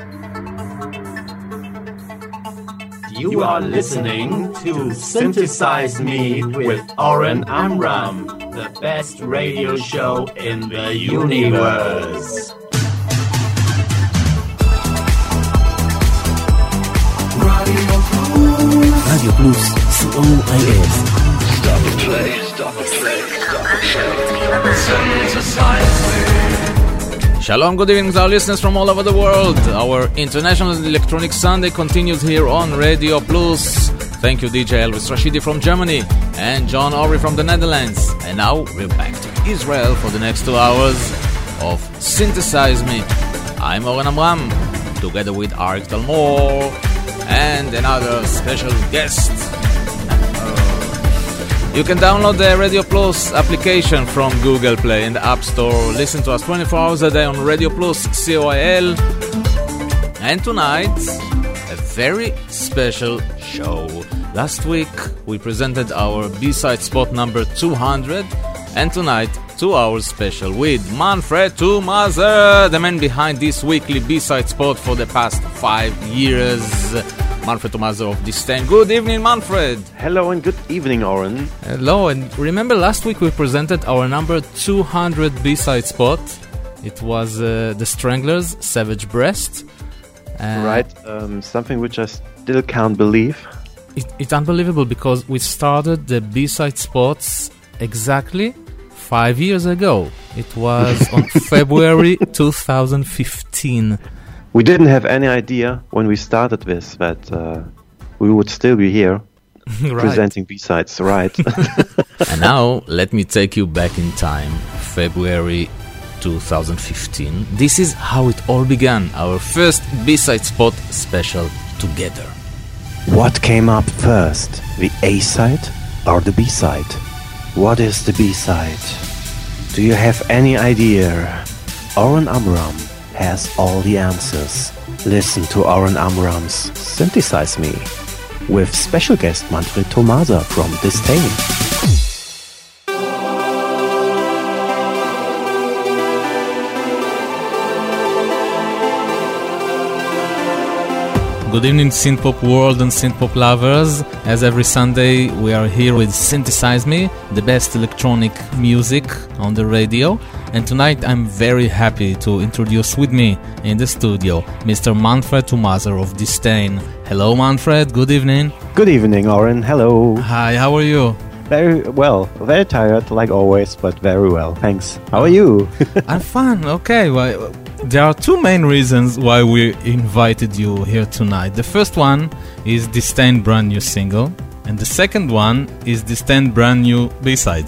You are listening to Synthesize Me with Oren Amram, the best radio show in the universe. Radio Plus, COIS. Stop the play. Synthesize me. Shalom, good evening to our listeners from all over the world. Our International Electronic Sunday continues here on Radio Plus. Thank you, DJ Elvis Rashidi from Germany and John Ori from the Netherlands. And now we're back to Israel for the next 2 hours of Synthesize Me. I'm Oren Amram, together with Arik Talmor and another special guest. You can download the Radio Plus application from Google Play in the App Store. Listen to us 24 hours a day on Radio Plus, COIL. And tonight, a very special show. Last week, we presented our B-side spot number 200. And tonight, 2 hours special with Manfred Tumazer, the man behind this weekly B-side spot for the past 5 years. Manfred Tumazer of Disdain. Good evening, Manfred. Hello and good evening, Oren. Hello, and remember last week we presented our number 200 B-side spot. It was The Stranglers, Savage Breast. Right, something which I still can't believe. It's unbelievable because we started the B-side spots exactly 5 years ago. It was on February 2015. We didn't have any idea when we started this that we would still be here presenting B-sides, right? And now, let me take you back in time, February 2015. This is how it all began, our first B-side spot special together. What came up first, the A-side or the B-side? What is the B-side? Do you have any idea? Oren Amram has all the answers. Listen to Oren Amram's Synthesize Me with special guest Manfred Tumazer from Disdain. Good evening, synthpop world and synthpop lovers. As every Sunday, we are here with Synthesize Me, the best electronic music on the radio. And tonight, I'm very happy to introduce with me in the studio Mr. Manfred Tumazer of Disdain. Hello, Manfred. Good evening. Good evening, Oren. Hello. Hi. How are you? Very well. Very tired, like always, but very well. Thanks. How are you? I'm fine. Okay. Well, there are two main reasons why we invited you here tonight. The first one is Disdain brand new single, and the second one is Disdain brand new B-side.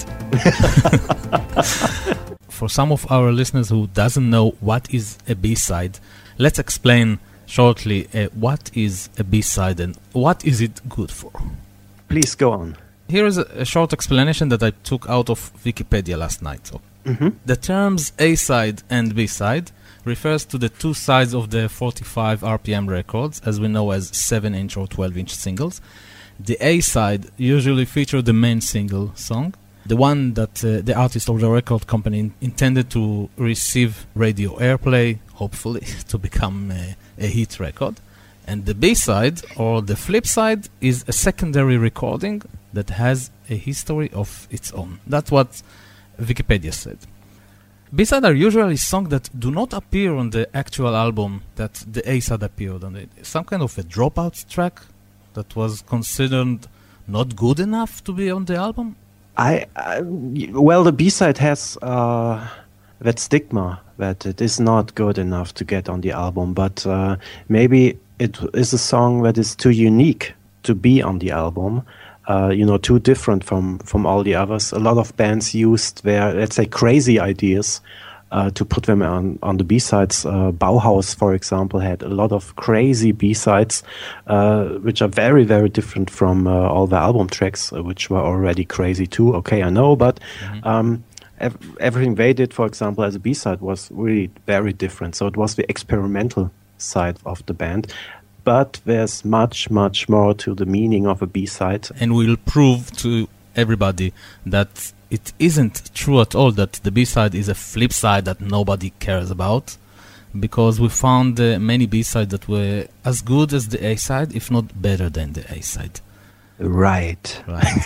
For some of our listeners who doesn't know what is a B-side, let's explain shortly what is a B-side and what is it good for. Please go on. Here is a short explanation that I took out of Wikipedia last night. So, the terms A-side and B-side refers to the two sides of the 45 RPM records, as we know as 7-inch or 12-inch singles. The A-side usually features the main single song, the one that the artist or the record company intended to receive radio airplay, hopefully to become a hit record. And the B-side, or the flip side, is a secondary recording that has a history of its own. That's what Wikipedia said. B-sides are usually songs that do not appear on the actual album that the A-side appeared on. Some kind of a dropout track that was considered not good enough to be on the album? Well, the B-side has that stigma that it is not good enough to get on the album, but maybe it is a song that is too unique to be on the album. Too different from all the others. A lot of bands used their, let's say, crazy ideas to put them on the B-sides. Bauhaus, for example, had a lot of crazy B-sides, which are very, very different from all the album tracks, which were already crazy too. Okay, I know, but everything they did, for example, as a B-side was really very different. So it was the experimental side of the band. But there's much, much more to the meaning of a B-side. And we'll prove to everybody that it isn't true at all that the B-side is a flip side that nobody cares about. because we found many B-sides that were as good as the A-side, if not better than the A-side. Right.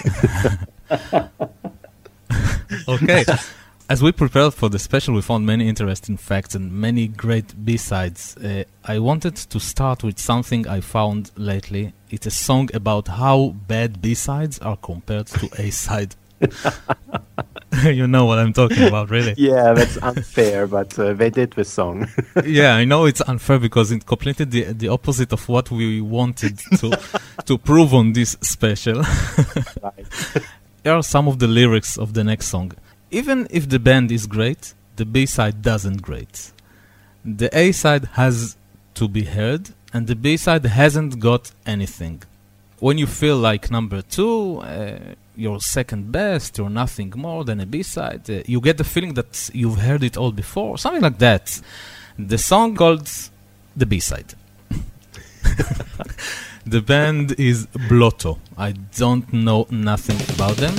Okay. As we prepared for the special, we found many interesting facts and many great B-sides. I wanted to start with something I found lately. It's a song about how bad B-sides are compared to A-side. You know what I'm talking about, really. Yeah, that's unfair, but they did the song. Yeah, I know it's unfair because it completed the opposite of what we wanted to prove on this special. Right. Here are some of the lyrics of the next song. Even if the band is great, the B-side doesn't great. The A-side has to be heard, and the B-side hasn't got anything. When you feel like number 2, you're second best, you're nothing more than a B-side, you get the feeling that you've heard it all before, something like that. The song called the B-side. The band is Blotto. I don't know nothing about them.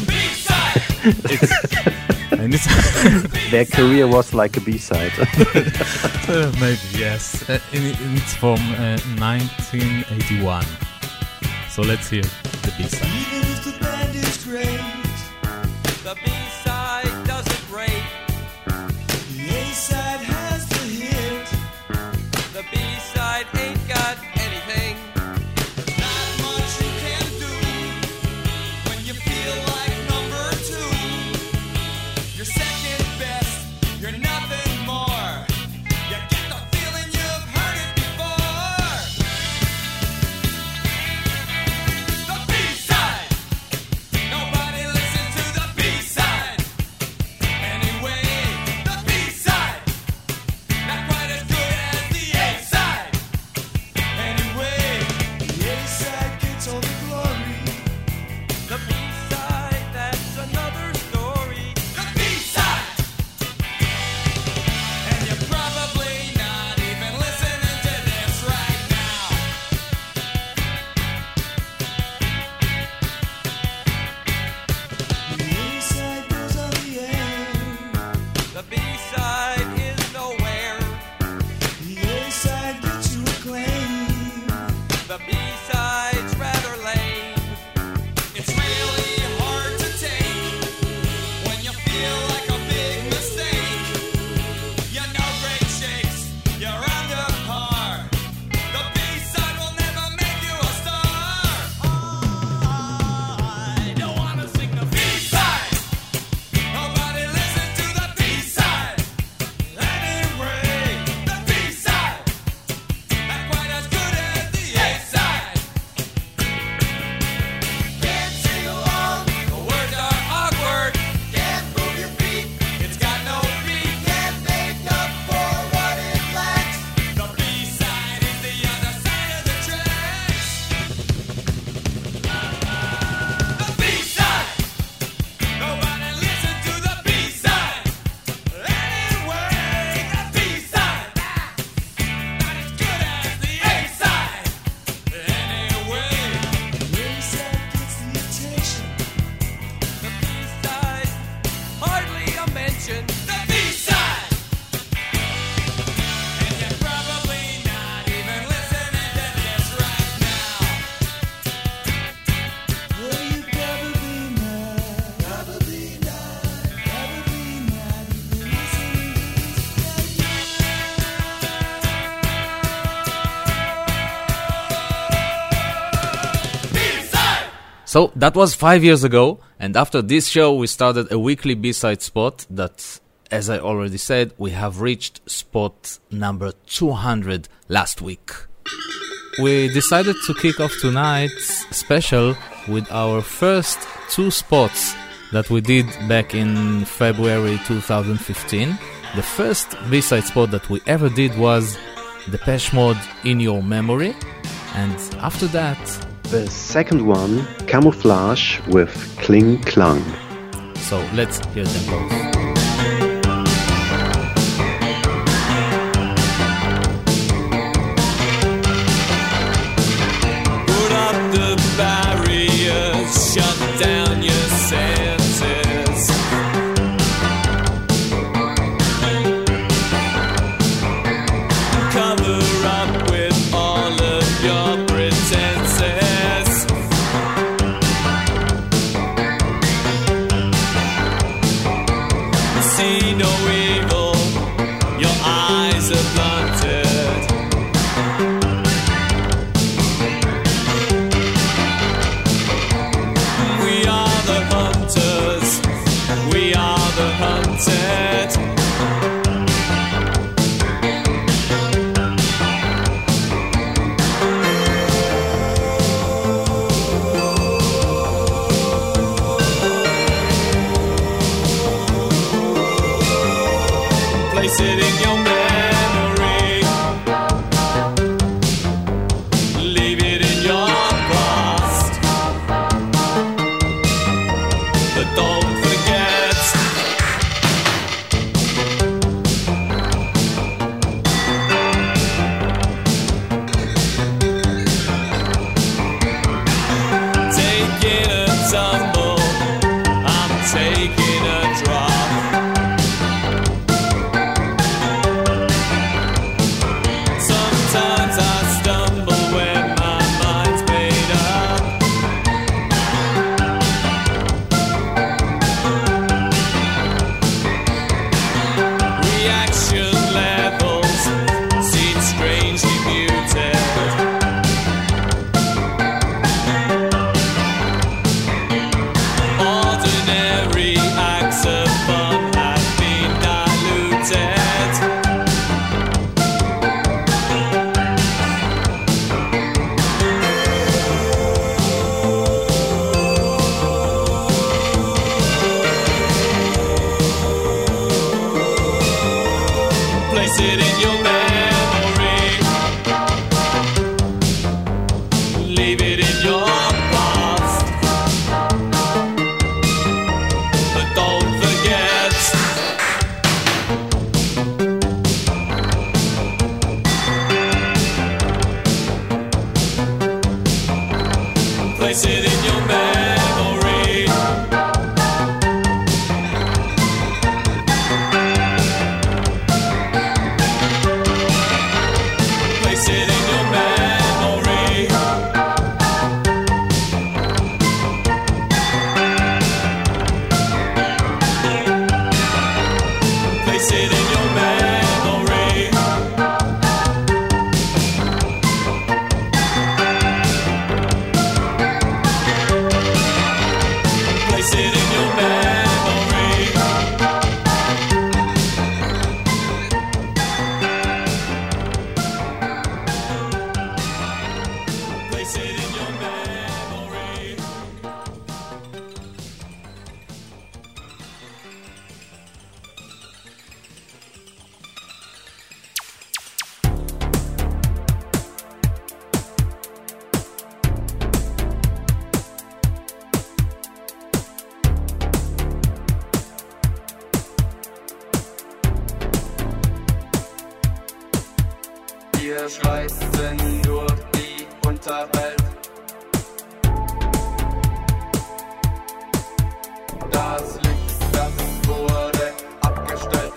And Their career was like a B-side. Maybe, yes. It's from 1981. So let's hear the B-side. Even if the band is great, the B-side doesn't rate. The A-side has the hit. The B-side ain't got anything. There's not much you can do when you feel like number 2. You're second best, you're nothing more. You get the feeling you've heard it before. The B-side. Nobody listens to the B-side. Anyway, the B-side. Not quite as good as the A-side. Anyway, the A-side gets all the glory. The B-side, that's another story. The B-side. And you're probably not even listening to this right now. The A-side goes on the air. The B-side is nowhere. The A-side gets you acclaim. The B-side's rather lame. It's really hard to take when you feel like a big mistake. You know great shakes, you're under par. The B-side will never make you a star. I don't wanna sing the B-side. Nobody listens to the B-side. Anyway, the B-side. Not quite as good as the A-side. Can't sing along, the words are awkward. Can't move your feet, it's got no beat. Can't make up for what it lacks. The B-side is the other side of the tracks. The B-side. Nobody listens to the B-side. Anyway, the B-side. Not as good as the A-side. Anyway, the A-side gets the attention. The B-side, hardly a mention. The B-side. And you're probably not even listening to this right now. Well, you probably not. Probably not. Probably not even listening to this right now. B-side. So that was 5 years ago, and after this show we started a weekly B-side spot that, as I already said, we have reached spot number 200 last week. We decided to kick off tonight's special with our first 2 spots that we did back in February 2015. The first B-side spot that we ever did was Depeche Mode, In Your Memory, and after that The second one, Camouflage with Kling Klang. So let's hear them both. Put up the barriers, shut down your senses. Place it in your memory. Place it in your memory. Place it in your memory. Place it in your memory. Place it in your memory. Wir schreiten durch die Unterwelt. Das Licht, das wurde abgestellt.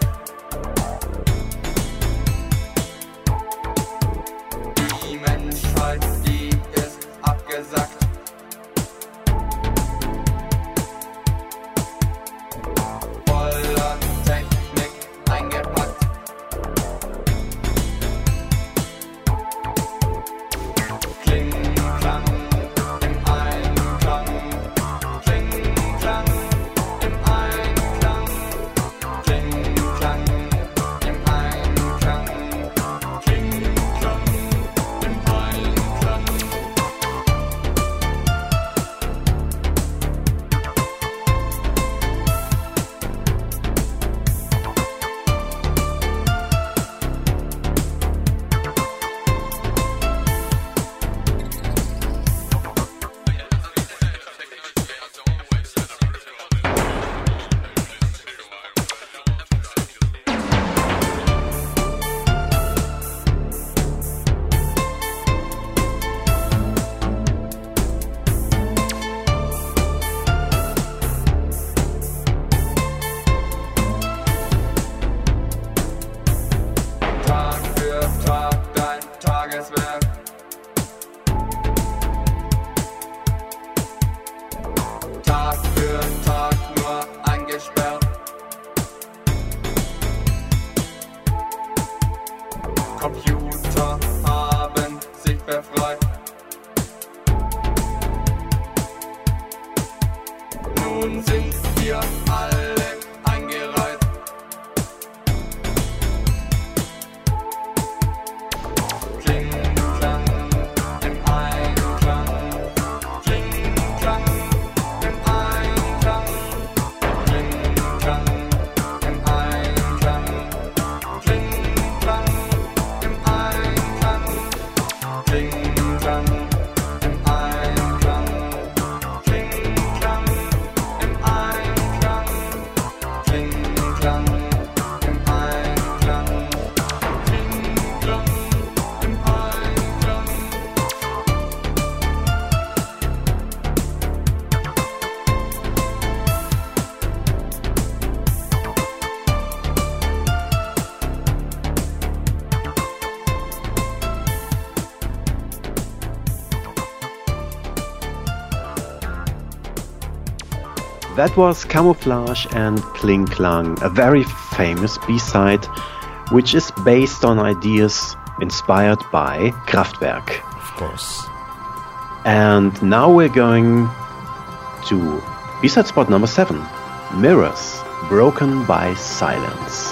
Die Menschheit, die ist abgesackt. Voller Technik eingepackt. Klang im Einklang, Klang im Einklang, Klang im Einklang, Klang im Einklang. Tag für Tag dein Tageswerk. Tag für Tag nur eingesperrt. Computer haben sich befreit. Nun sind wir alle eingereiht. Klang im Einklang, Klang im Einklang, Klang im Einklang, Klang im Einklang, Klang im Einklang, Klang im Einklang, Klang im Einklang, Klang im Einklang. That was Camouflage and Kling Klang, a very famous B-side, which is based on ideas inspired by Kraftwerk. Of course. And now we're going to B-side spot number 7, Mirrors, Broken by Silence.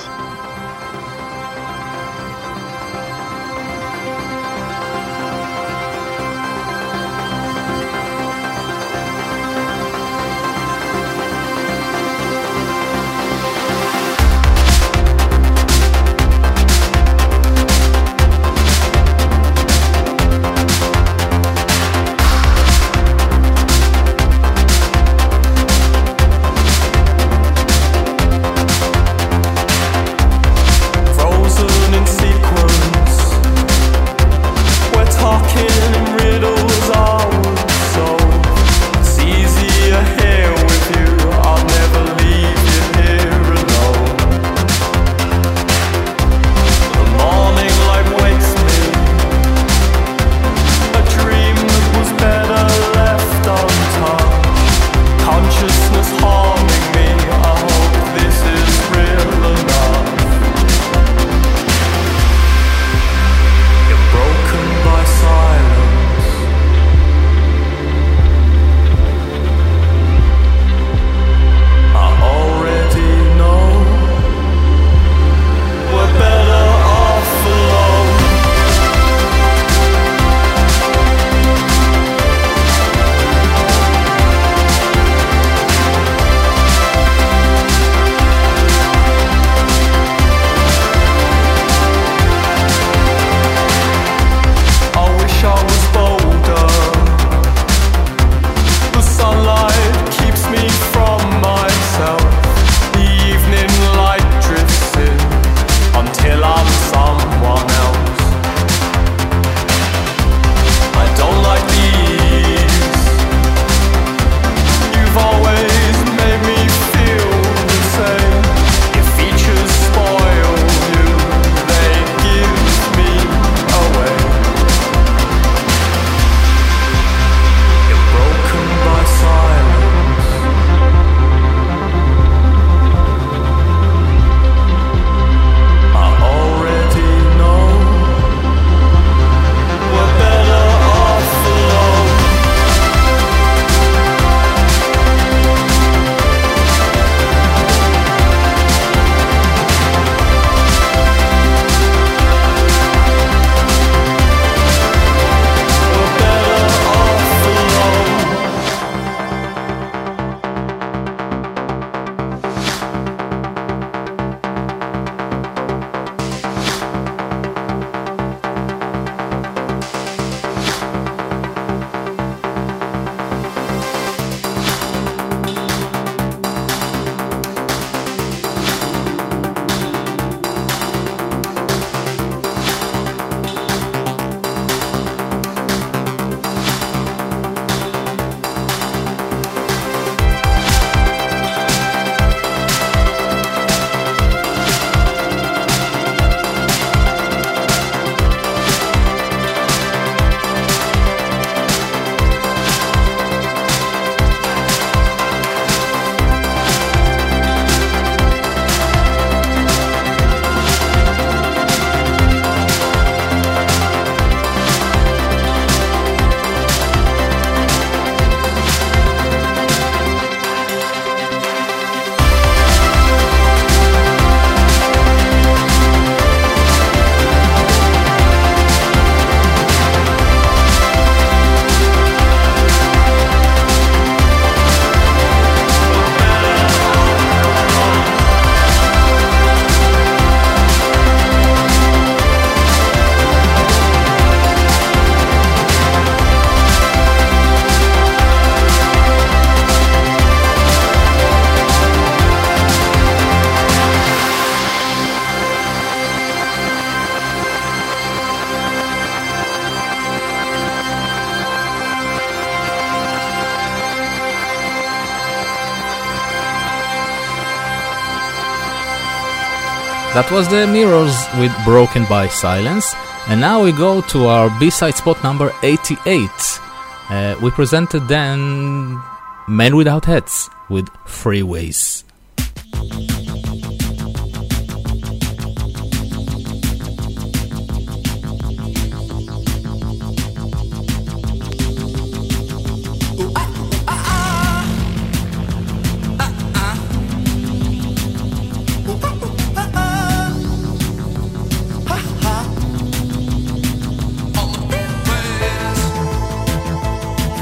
That was the Mirrors with Broken by Silence. And now we go to our B-side spot number 88. We presented then Men Without Hats with Freeways.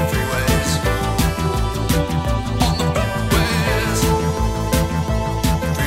Freeways.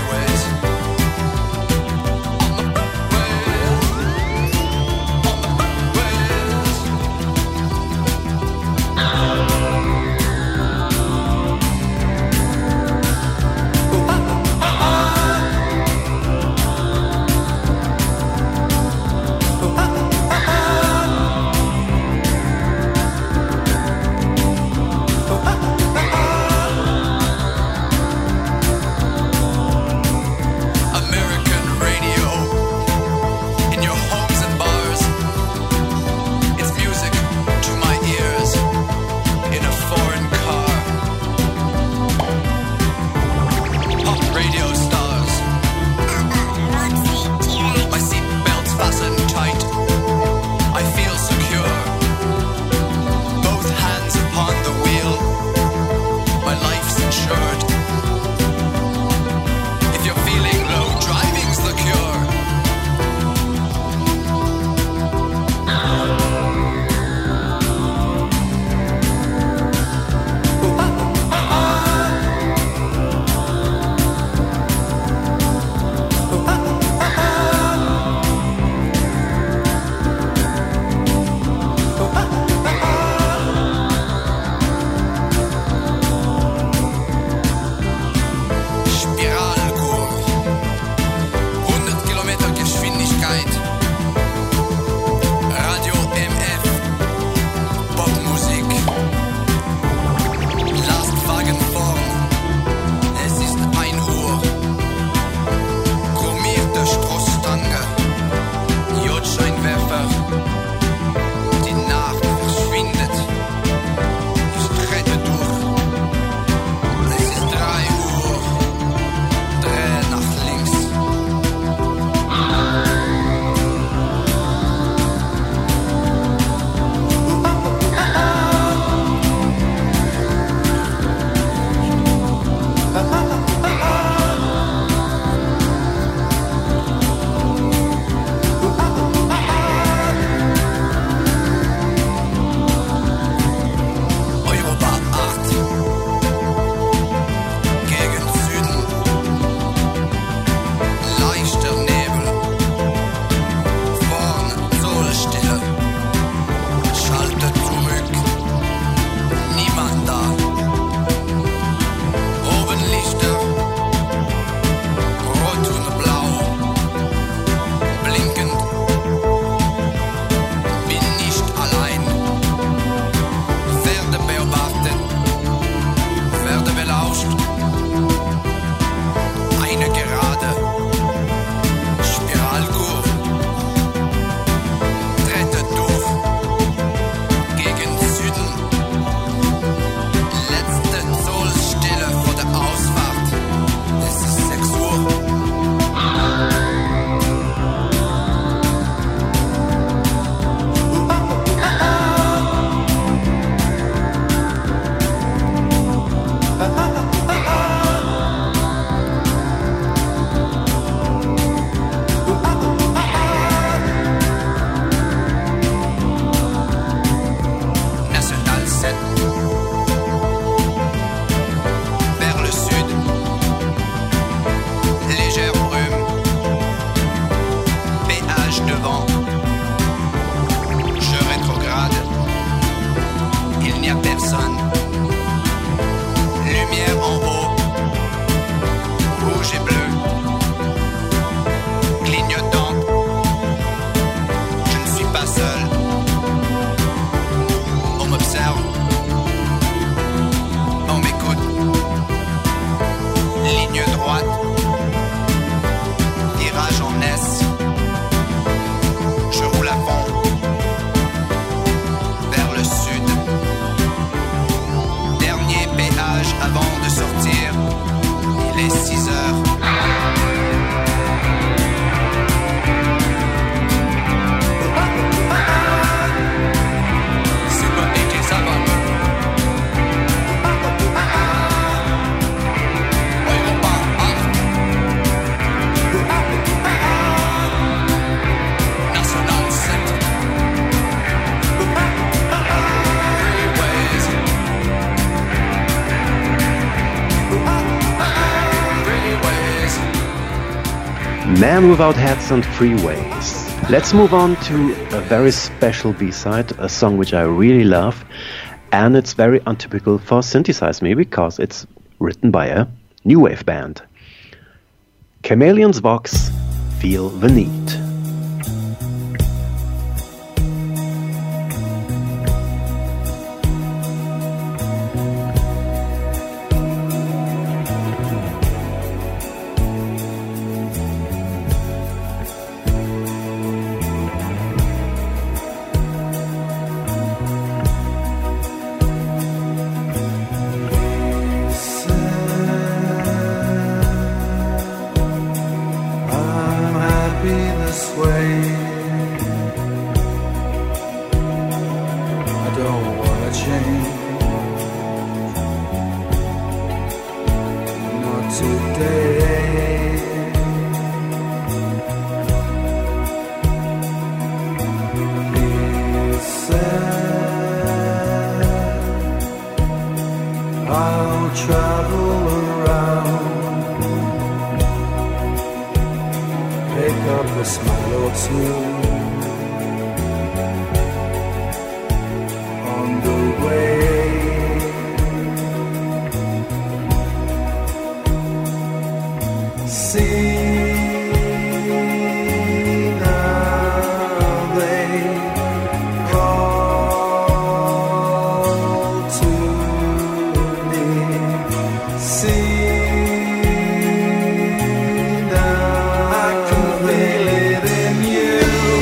Man Without Hats and Freeways. Let's move on to a very special B-side, a song which I really love, and it's very untypical for Synthesize Me because it's written by a new wave band. Chameleon's Vox, Feel the Need. I'm happy this way. I don't wanna change. Not today. He said I'll travel around, pick up a smile or two on the way. See now they call to me. See now I can feel it in you.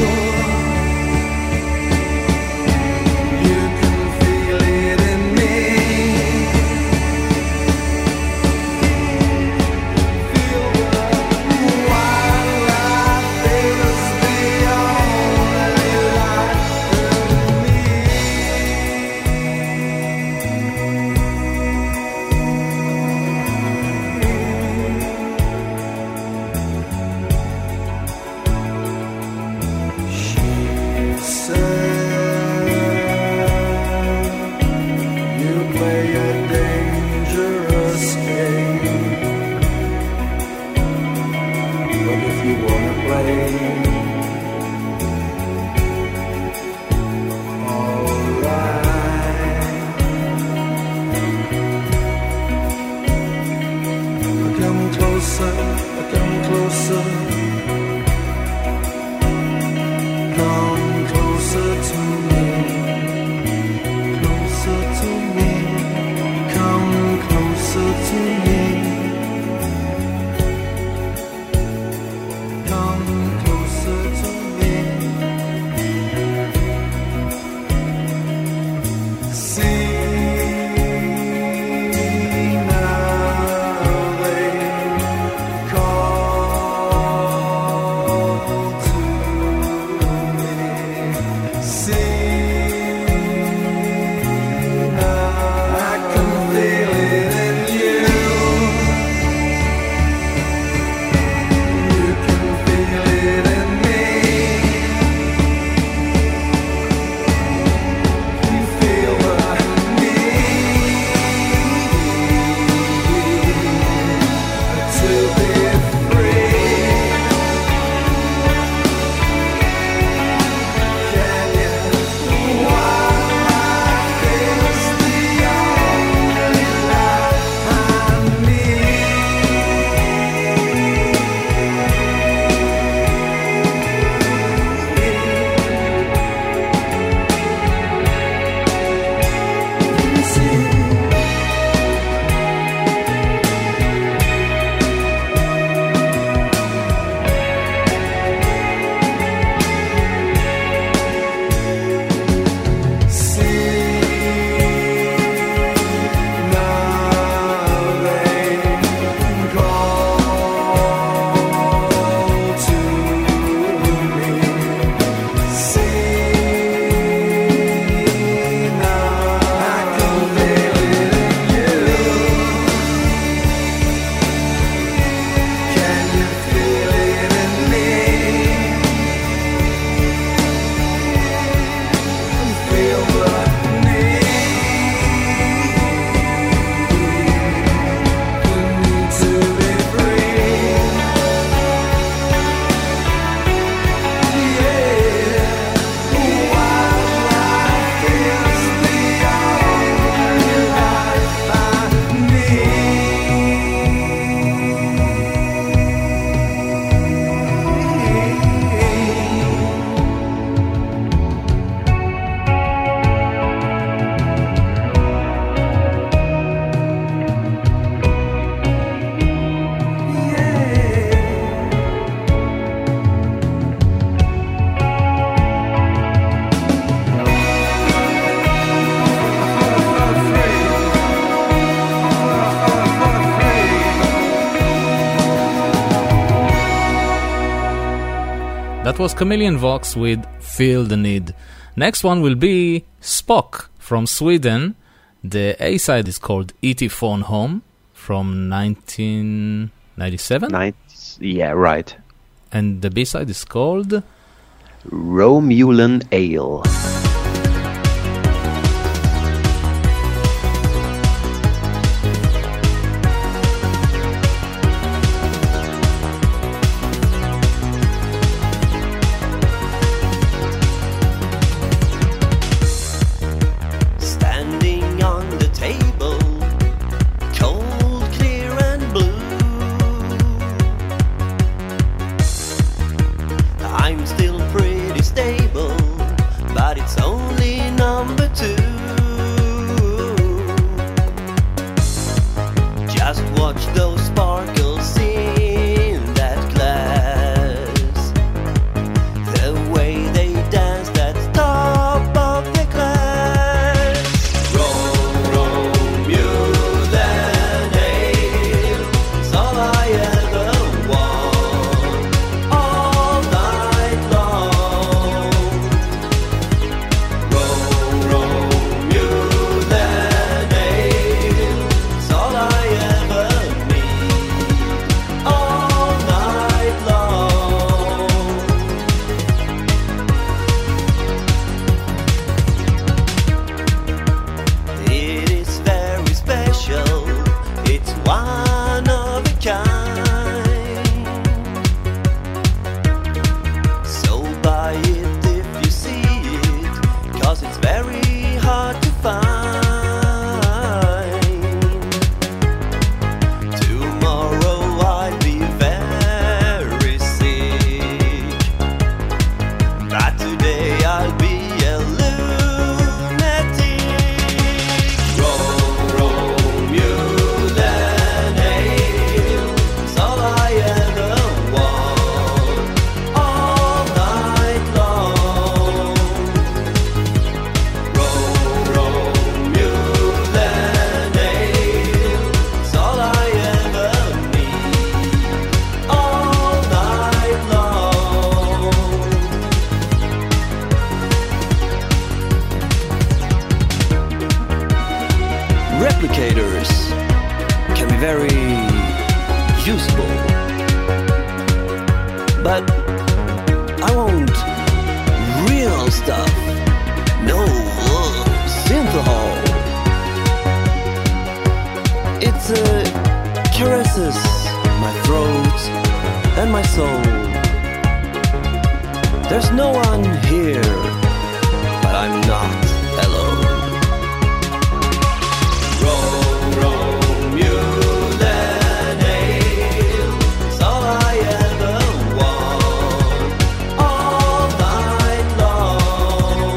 That was Chameleon Vox with Feel the Need. Next one will be Spock from Sweden. The A-side is called E.T. Phone Home from 1997. Yeah, right. And the B-side is called Romulan Ale. Standing on the table, cold, clear and blue. I'm still pretty stable, but it's only number two. Just watch those sparkles in that glass, the way they dance that top of the glass. Romulan ale, it's all I ever want, all night long. Romulan ale, it's all I ever need, all night long. It is very special, it's one of a kind. So buy it if you see it, 'cause it's very hard to find. Tomorrow I'll be very sick, but today I'll be a lunatic. Romulan ale, it's all I ever want, all night long. Romulan ale, it's all I ever need, all night long. Replicators can be very useful, but I want real stuff, no synthahol. It caresses my throat and my soul. There's no one here, but I'm not alone. Romulan ale, it's all I ever want, all night long.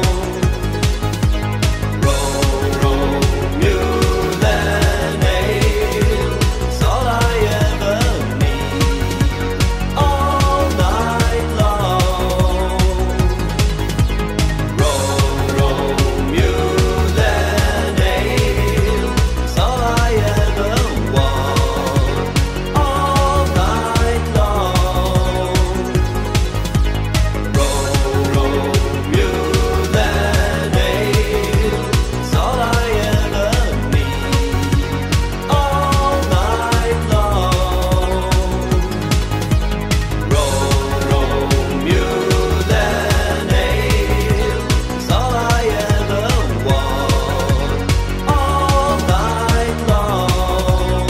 Romulan ale, it's all I ever need, all night long. Romulan ale, it's all I ever want, all night long. Romulan ale, it's all I ever need, all night long. Romulan ale, it's all I ever want, all night long.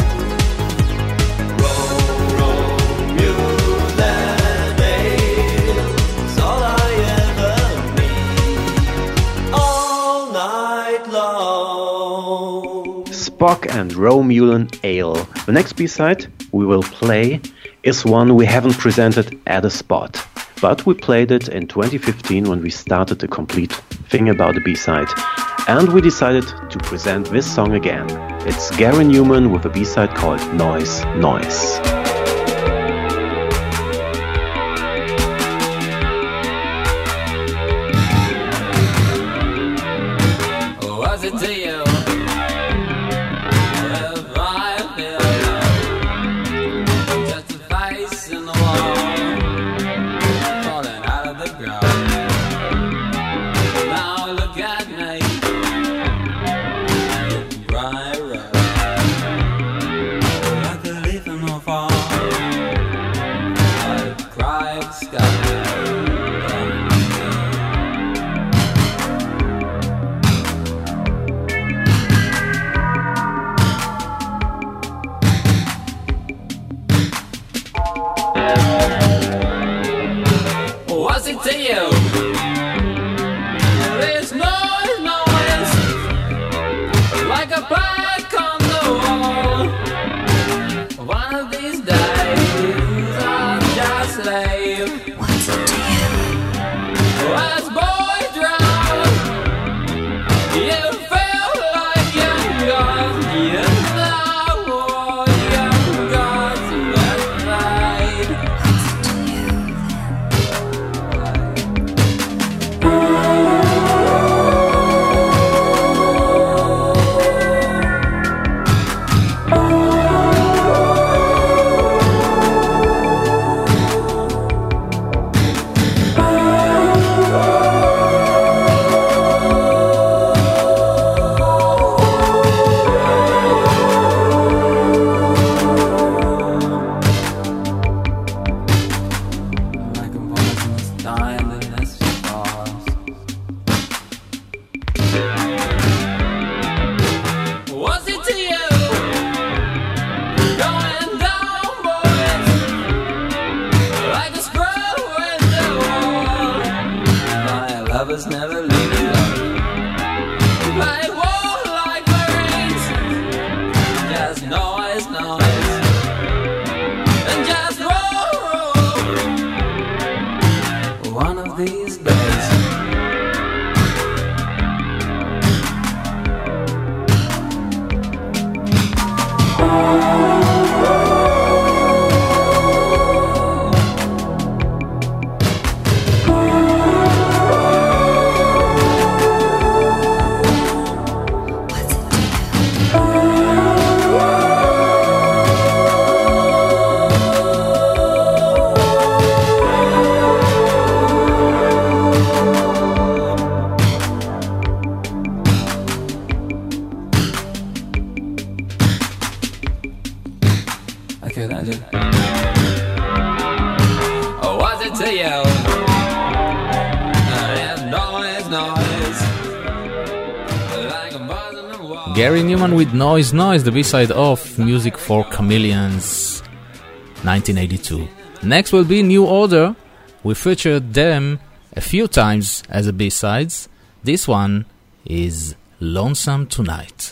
Romulan ale, it's all I ever need, all night long. Spock and Romulan Ale. The next B-side we will play is one we haven't presented at a spot, but we played it in 2015 when we started the complete thing about the B-side, and we decided to present this song again. It's Gary Newman with a B-side called Noise, Noise. Was it to you? If I feel just a face in the wall, thought like war, like Marines. Just noise, noise, and just roll, roll. One of these days. Okay, that's it. Oh, what's it to you? There's noise, noise. Like a buzz in the wall. Gary Newman with Noise Noise, the B-side of Music for Chameleons, 1982. Next will be New Order. We featured them a few times as a B-sides. This one is Lonesome Tonight.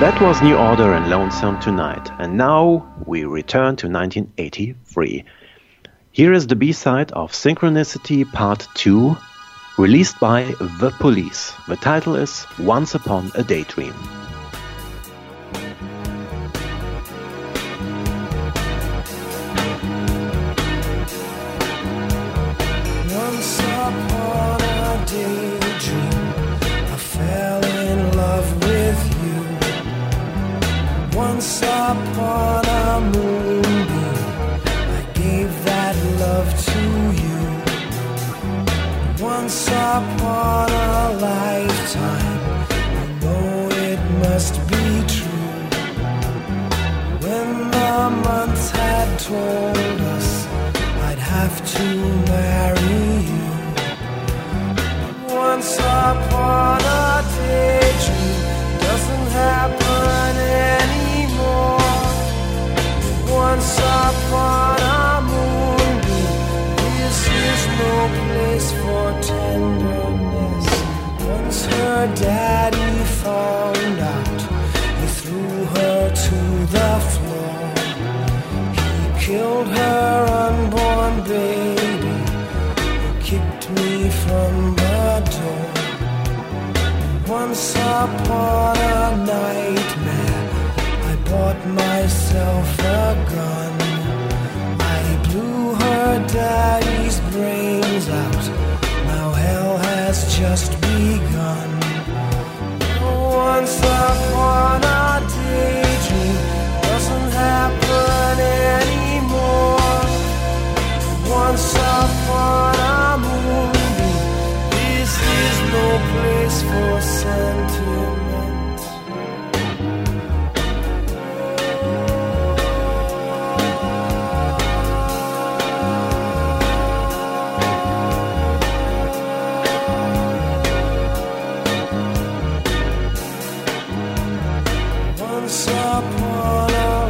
That was New Order and Lonesome Tonight, and now we return to 1983. Here is the B-side of Synchronicity Part 2, released by The Police. The title is Once Upon a Daydream. Once upon a daydream, I fell in love with you. Once upon a moonbeam, I gave that love to you. Once upon a lifetime, you know it must be true. When the months had told us I'd have to marry you. Once upon a daydream doesn't happen anymore. Once upon a moonbeam, this is no place for tenderness. Once her daddy found out, he threw her to the floor. He killed her unborn baby, kicked me from the door. Once upon a nightmare, I bought myself a gun. I blew her daddy's brains out. Now hell has just begun. Once upon a daydream doesn't happen anymore. Once upon a moonbeam, this is no place for sentiment. Once upon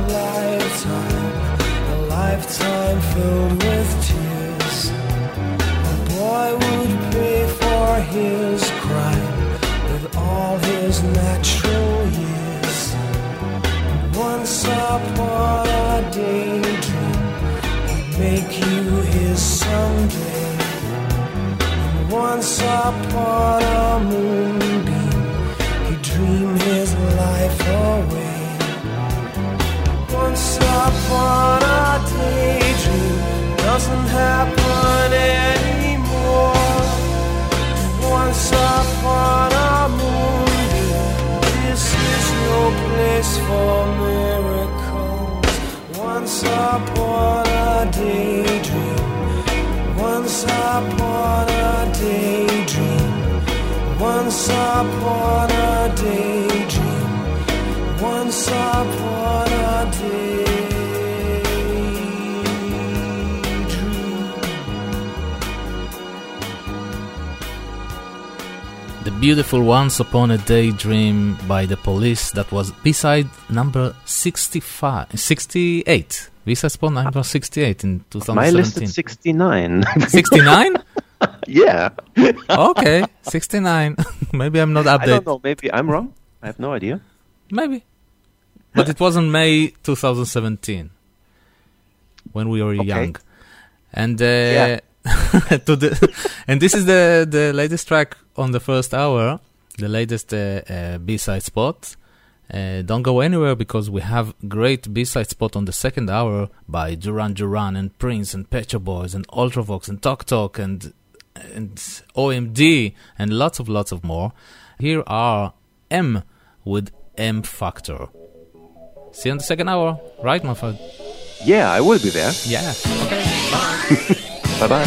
a lifetime filled with tears. A boy would pay for his crime with all his natural years. Once upon a daydream, he'd make you his someday. And once upon a moonbeam, he'd dream his life away. Once upon a daydream doesn't happen anymore. Once upon a moonbeam, this is no place for miracles. Once upon a daydream, once upon a daydream, once upon a daydream, once upon a daydream. The beautiful Once Upon a Daydream by The Police. That was B-side number 68. B-side spot number 68 in 2017. My list is 69. 69? Yeah. Okay, 69. Maybe I'm not updated. I don't know, maybe I'm wrong. I have no idea. Maybe. But it was in May 2017 when we were young. And Yeah. and this is the latest track on the first hour, the latest B-side spot. Don't go anywhere because we have great B-side spot on the second hour by Duran Duran and Prince and Pet Shop Boys and Ultravox and Tok Tok and OMD and lots of more. Here are M with M Factor. See you in the second hour, right, my friend? Yeah, I will be there. Yeah. Okay. Bye-bye.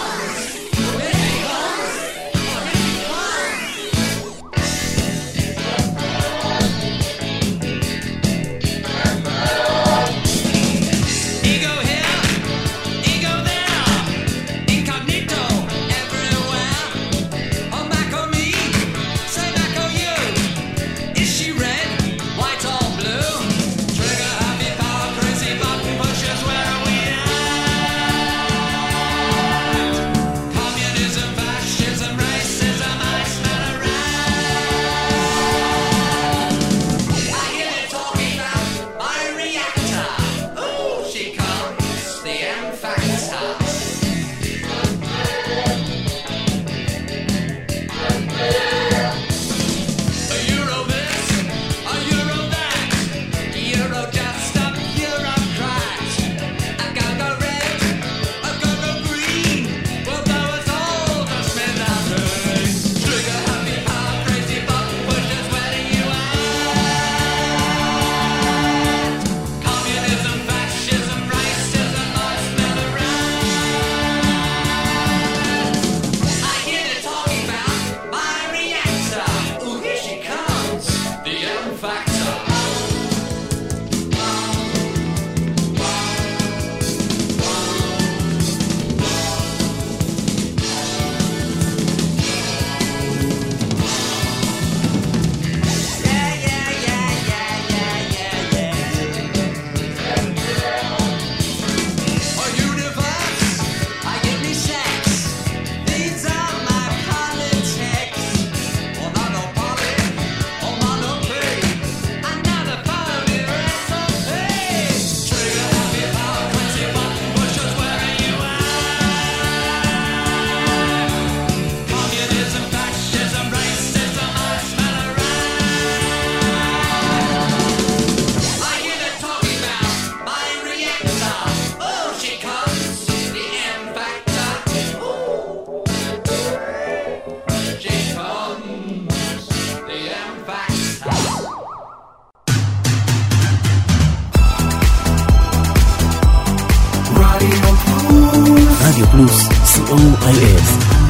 Ego here, ego there, incognito everywhere. On back on me, say back on you. Is she red, white or blue? Trigger happy power, crazy button pushes where we are. COIF.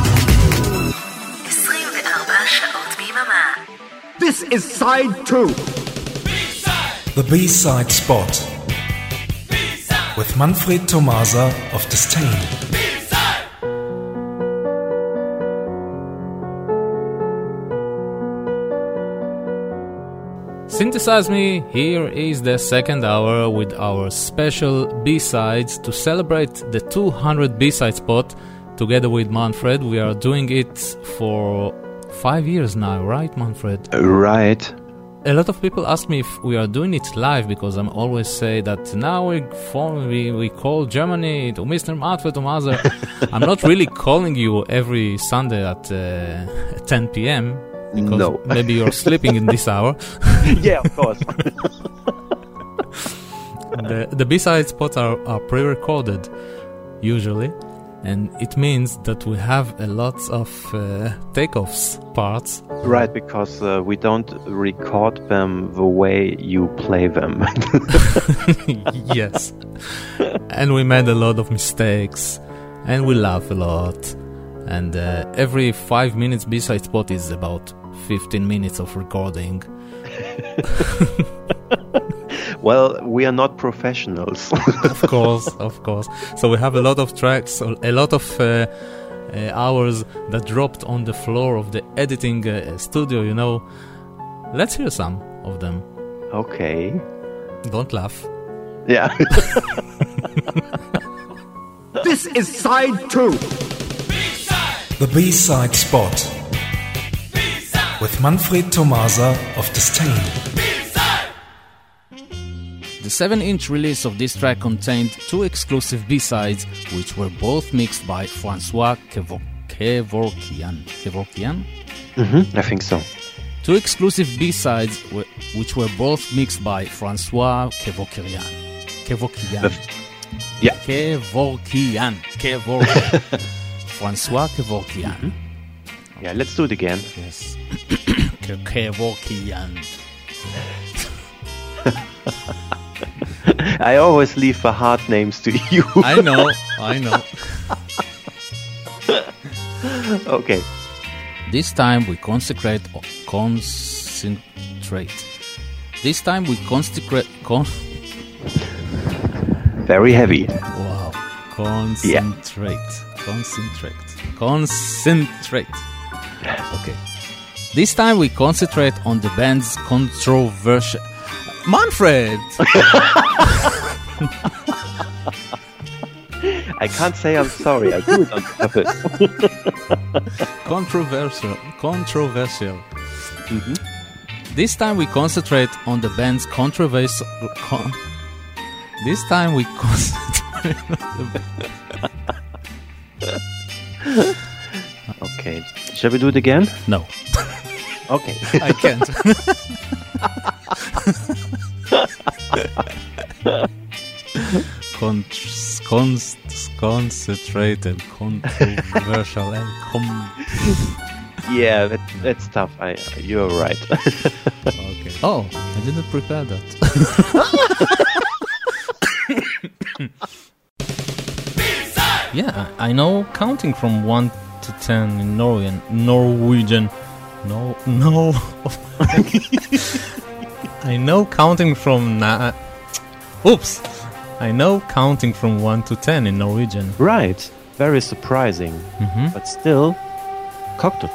24 שעות ביממה. This is side 2. The B-side spot. With Manfred Tomasa of Disdain. Synthesize Me, here is the second hour with our special B-sides to celebrate the 200 B-side spot together with Manfred. We are doing it for 5 years now, right, Manfred? Right. A lot of people ask me if we are doing it live because I'm always say that now we call Germany to Mr. Manfred Tomasa. I'm not really calling you every Sunday at 10 p.m. Because no. Maybe you're sleeping in this hour. Yeah, of course. The B-side spots are pre-recorded, usually. And it means that we have a lot of takeoffs parts. Right, because we don't record them the way you play them. Yes. And we made a lot of mistakes. And we laugh a lot. And every 5 minutes B-side spot is about 15 minutes of recording. Well, we are not professionals. Of course. So we have a lot of tracks, a lot of hours that dropped on the floor of the editing studio, you know. Let's hear some of them. Okay. Don't laugh. Yeah. This is side 2. The B-side spot. With Manfred Tomasa of Disdain. The 7-inch release of this track contained 2 exclusive B-sides, which were both mixed by Francois Kevorkian. Kevorkian? I think so. 2 exclusive B-sides which were both mixed by Francois Kevorkian. Yeah. Kevorkian. Francois Kevorkian. Yeah, let's do it again. Yes. Kevorkian. I always leave the hard names to you. I know. Okay. This time we concentrate. This time we concentrate. Very heavy. Wow. Concentrate. Okay. This time we concentrate on the band's controversial... Manfred! I can't say I'm sorry. I do it on purpose. Controversial. Mm-hmm. This time we concentrate on the band's controversial... This time we concentrate on the Okay. Shall we do it again? No. Okay. I can't. Concentrated, controversial, and Yeah, that's tough. You're right. Okay. Oh, I didn't prepare that. Yeah, I know counting from 1 to 10 in Norwegian. No. I know counting from I know counting from 1 to 10 in Norwegian. Right. Very surprising. Mm-hmm. But still, Koktut.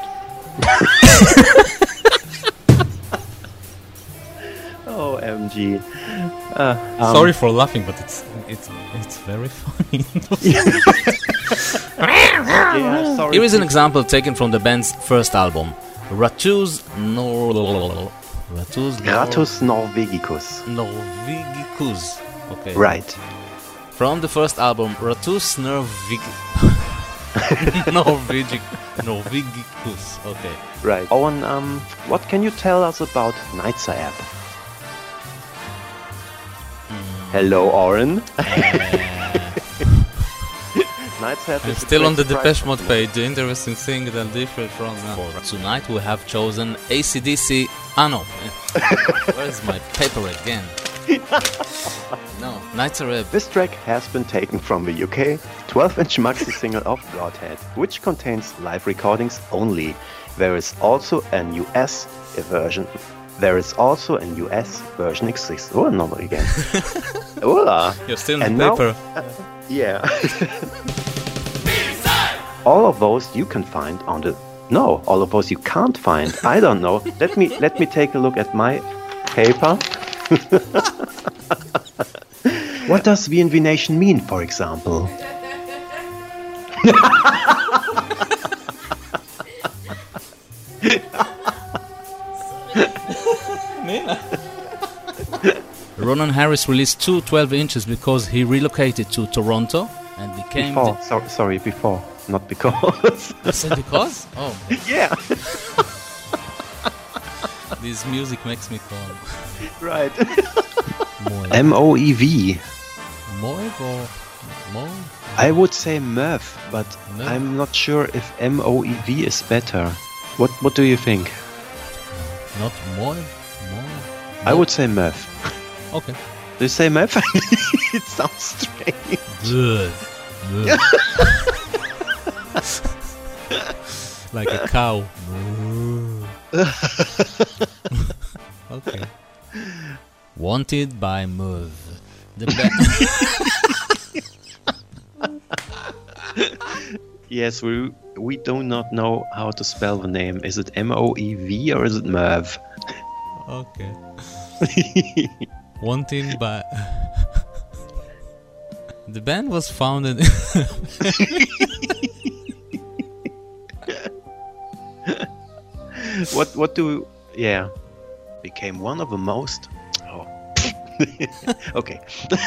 Oh, MG. Sorry for laughing, but it's very funny. Yeah, sorry. Here is an example taken from the band's first album, Ratus Norvegicus. Okay. Right. From the first album, Ratus Norvegicus. Okay. Right. Owen, what can you tell us about Nightsap? Hello, Oren. Nightsap I'm still on the Depeche Mode page. The interesting thing that differs from now. Tonight we have chosen AC/DC. Ah no. Where's my paper again? No, Nights Arab. This track has been taken from the UK 12-inch maxi single of Godhead, which contains live recordings only. There is also an US version. Exists. Oh, no, again. Hola. You're still And in now- paper. Yeah. All of those you can find on the. No, all of those you can't find. I don't know. Let me take a look at my paper. What does VNV Nation mean, for example? Ronan Harris released two 12 inches because he relocated to Toronto and became... Before, sorry, before, not because. You said because? Oh. Yeah. This music makes me calm. Right. Moev. MOEV. Moev or Moev? I would say MEV, but MEV. I'm not sure if MOEV is better. What do you think? Not Moev? Moev? I would say MEV. Okay. Do you say MEV? It sounds strange. Good. Like a cow. Okay. Wanted by Moev. The Yes, we do not know how to spell the name. Is it MOEV or is it MEV? Okay. Wanted by... The band was founded... What do... Yeah. Became one of the most... Oh. Okay.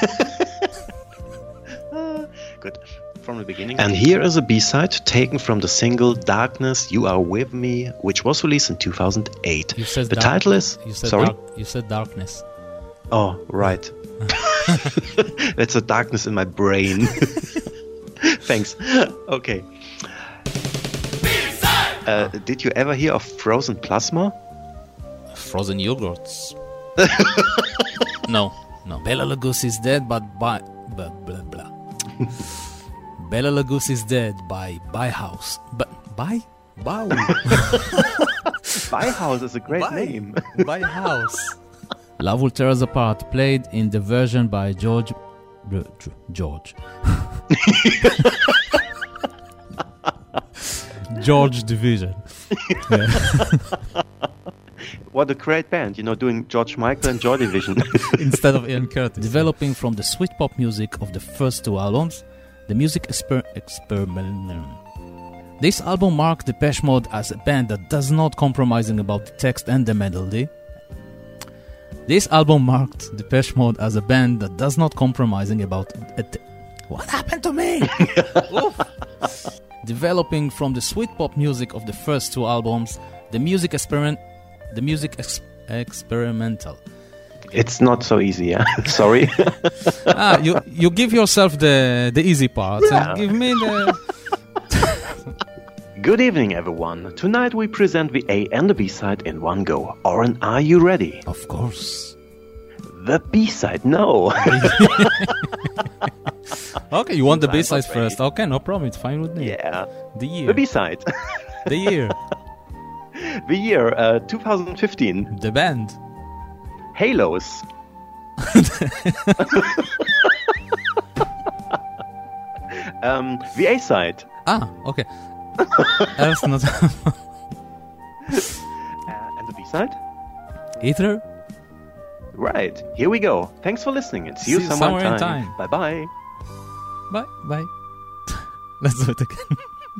Good. From the beginning. And here is a B-side taken from the single Darkness, You Are With Me, which was released in 2008. You said the title is... You said Sorry? You said Darkness. Oh, right. That's a darkness in my brain. Thanks. Okay. Did you ever hear of Frozen Plasma? Frozen yogurts. No. Bela Lugosi is dead, but by... Blah, blah, blah. Bela Lugosi is dead by Bauhaus. But by? Bau. Bauhaus is a great name. Bauhaus. Love Will Tear Us Apart, played in the version by George. George Division. Yeah. What a great band, doing George Michael and Joy Division. Instead of Ian Curtis. Developing from the sweet pop music of the first two albums, the music experiment. This album marked Depeche Mode as a band that does not compromising about the text and the melody. This album marked Depeche Mode as a band that does not compromising about what happened to me? Developing from the sweet pop music of the first two albums, the music experimental. It's not so easy, yeah. Sorry. You give yourself the easy part and give me the... Good evening, everyone. Tonight we present the A and the B-side in one go. Oren, are you ready? Of course. The B-side, no. Okay, you want the B-side first. Okay, no problem. It's fine with me. Yeah. The year. The B-side. The year. The year, 2015. The band. Halos. The A-side. Okay. That's not... And the B-side? Ether? Right. Here we go. Thanks for listening and see you somewhere in time. Bye-bye. Bye. Let's do it again.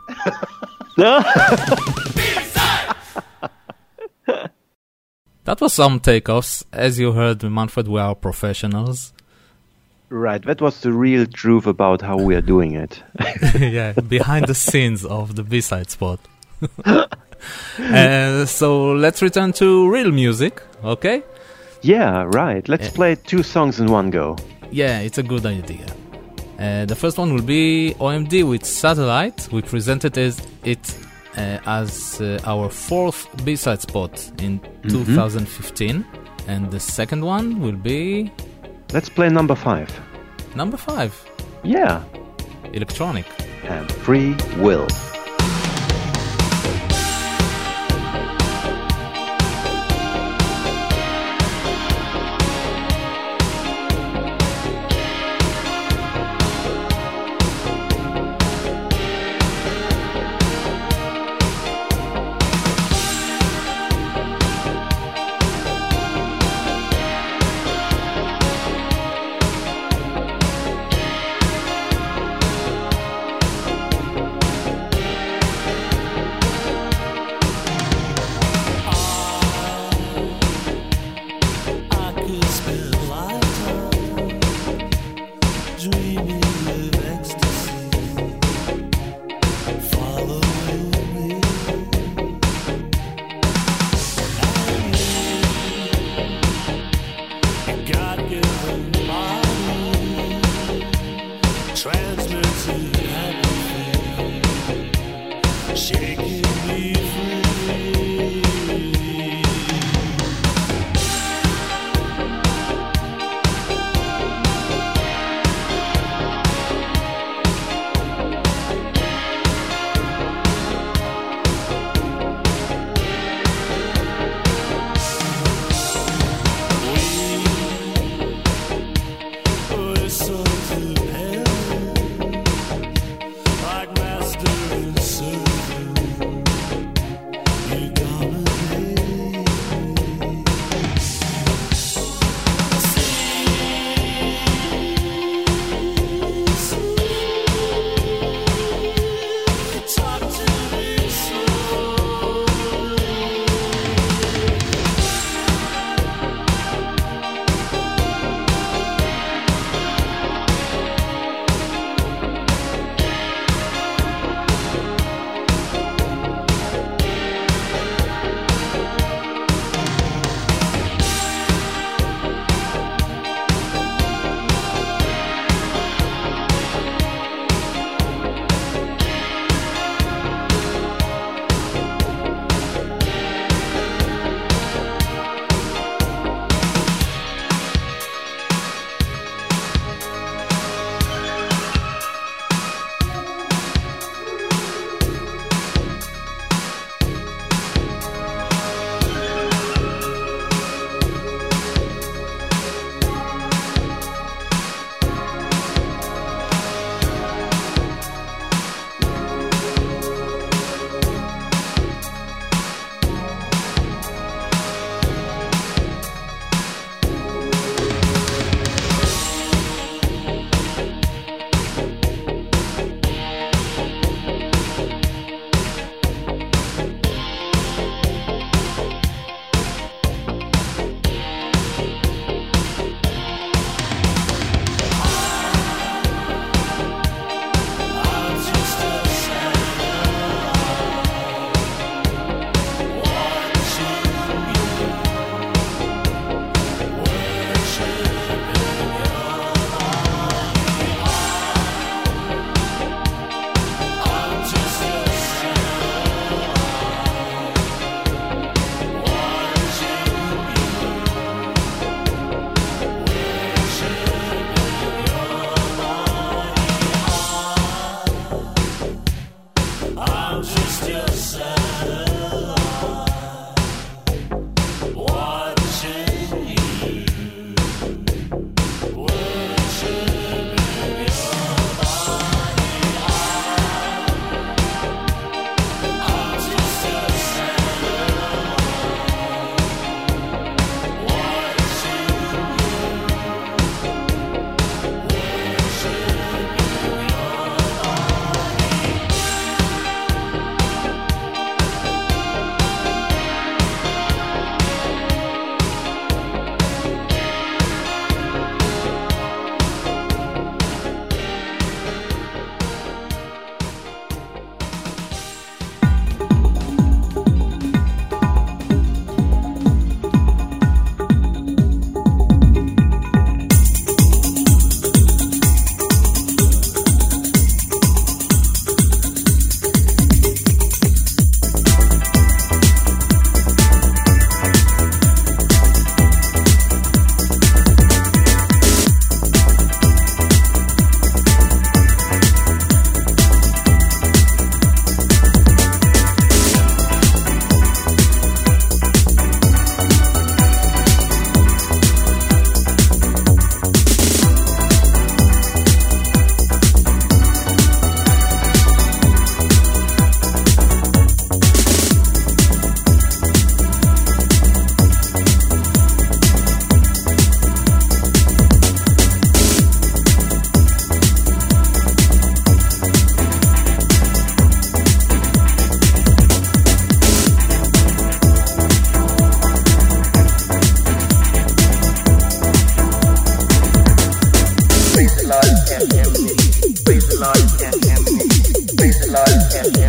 That was some takeoffs. As you heard, Manfred, we are professionals. Right, that was the real truth about how we are doing it. Yeah, behind the scenes of the B-side spot. So let's return to real music, okay? Yeah, right. Let's play two songs in one go. Yeah, it's a good idea. The first one will be OMD with Satellite. We presented it as our fourth B-side spot in 2015. And the second one will be Let's play number 5. Number 5. Yeah. Electronic. And Free Will.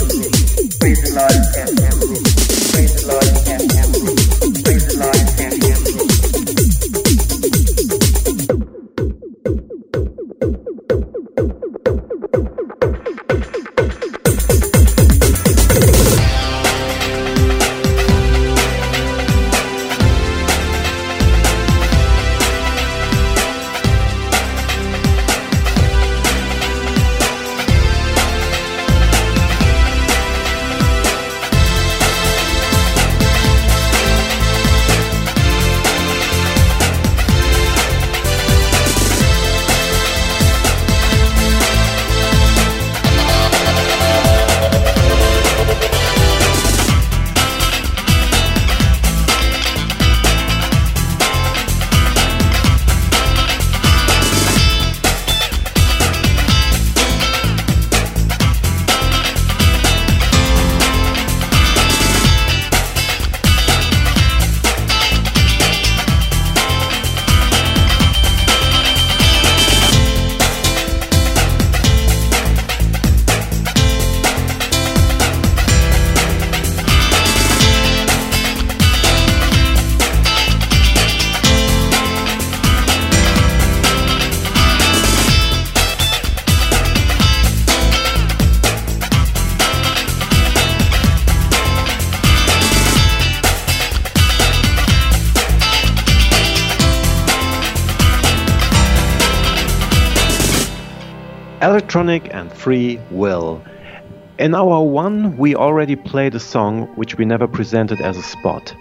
Electronic and Free Will. In our one, we already played a song which we never presented as a spot.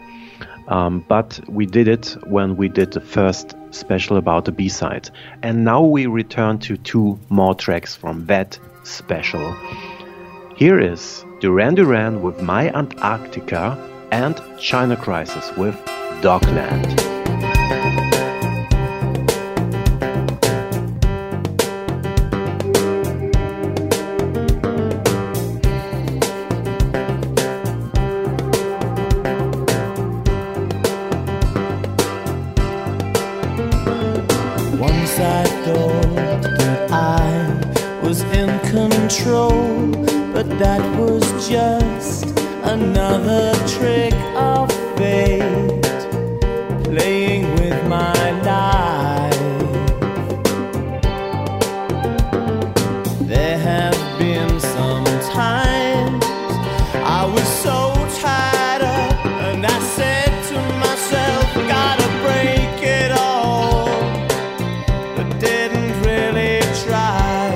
But we did it when we did the first special about the B-side. And now we return to two more tracks from that special. Here is Duran Duran with My Antarctica and China Crisis with Dogland. I thought that I was in control, but that was just another trick of fate, playing with my life. There have been some times I was so tied up, and I said to myself, gotta break it all. Didn't really try.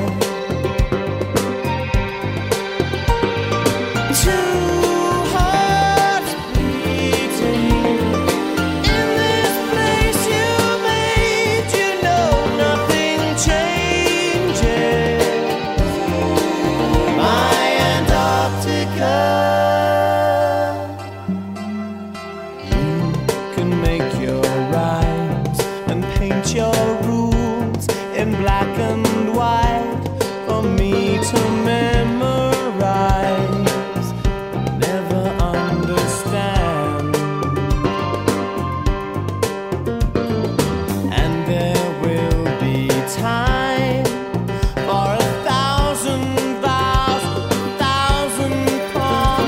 Two hearts beating in this place you made. You know nothing changes. My Antarctica. You can make your rhymes and paint your rules in black and white for me to memorize, never understand. And there will be time for 1,000 vows, 1,000 parts.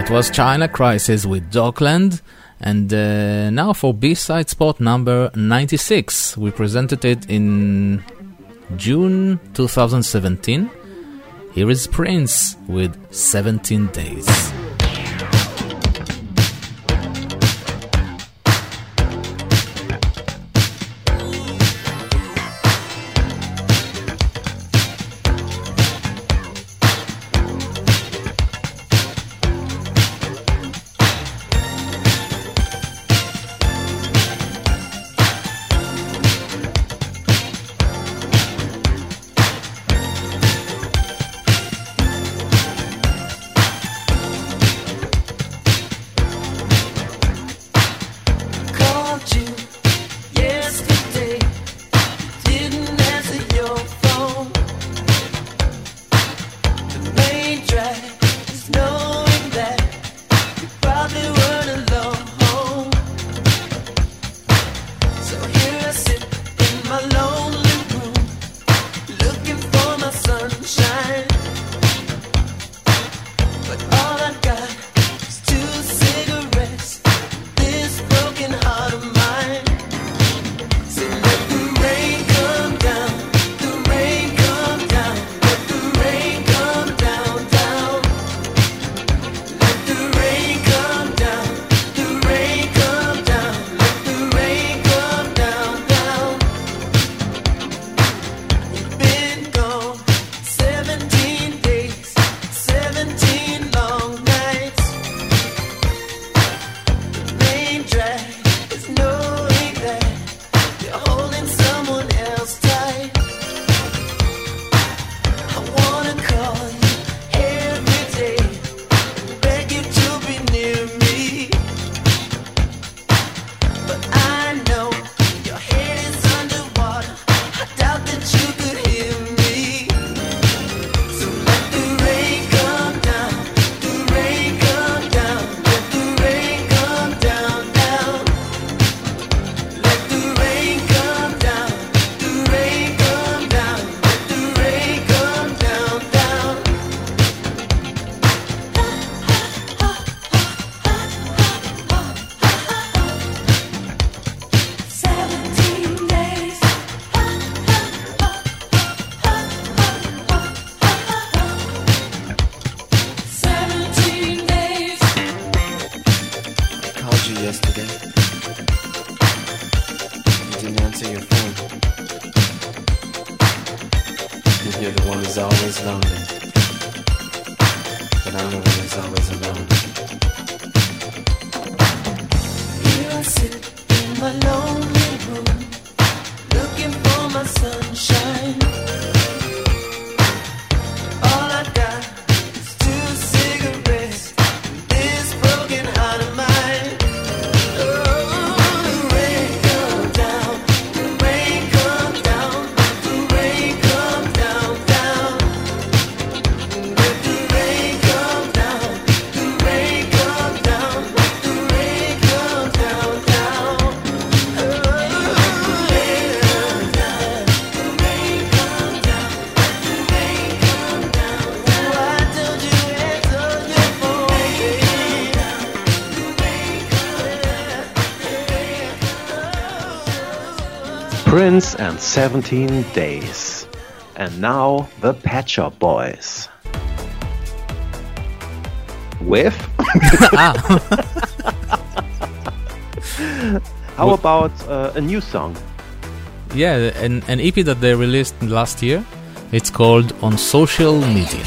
That was China Crisis with Dockland. And now for B-side spot number 96. We presented it in June 2017. Here is Prince with 17 Days. Prince and 17 Days. And now the Pet Shop Boys. With? How about a new song? Yeah, an EP that they released last year. It's called On Social Media.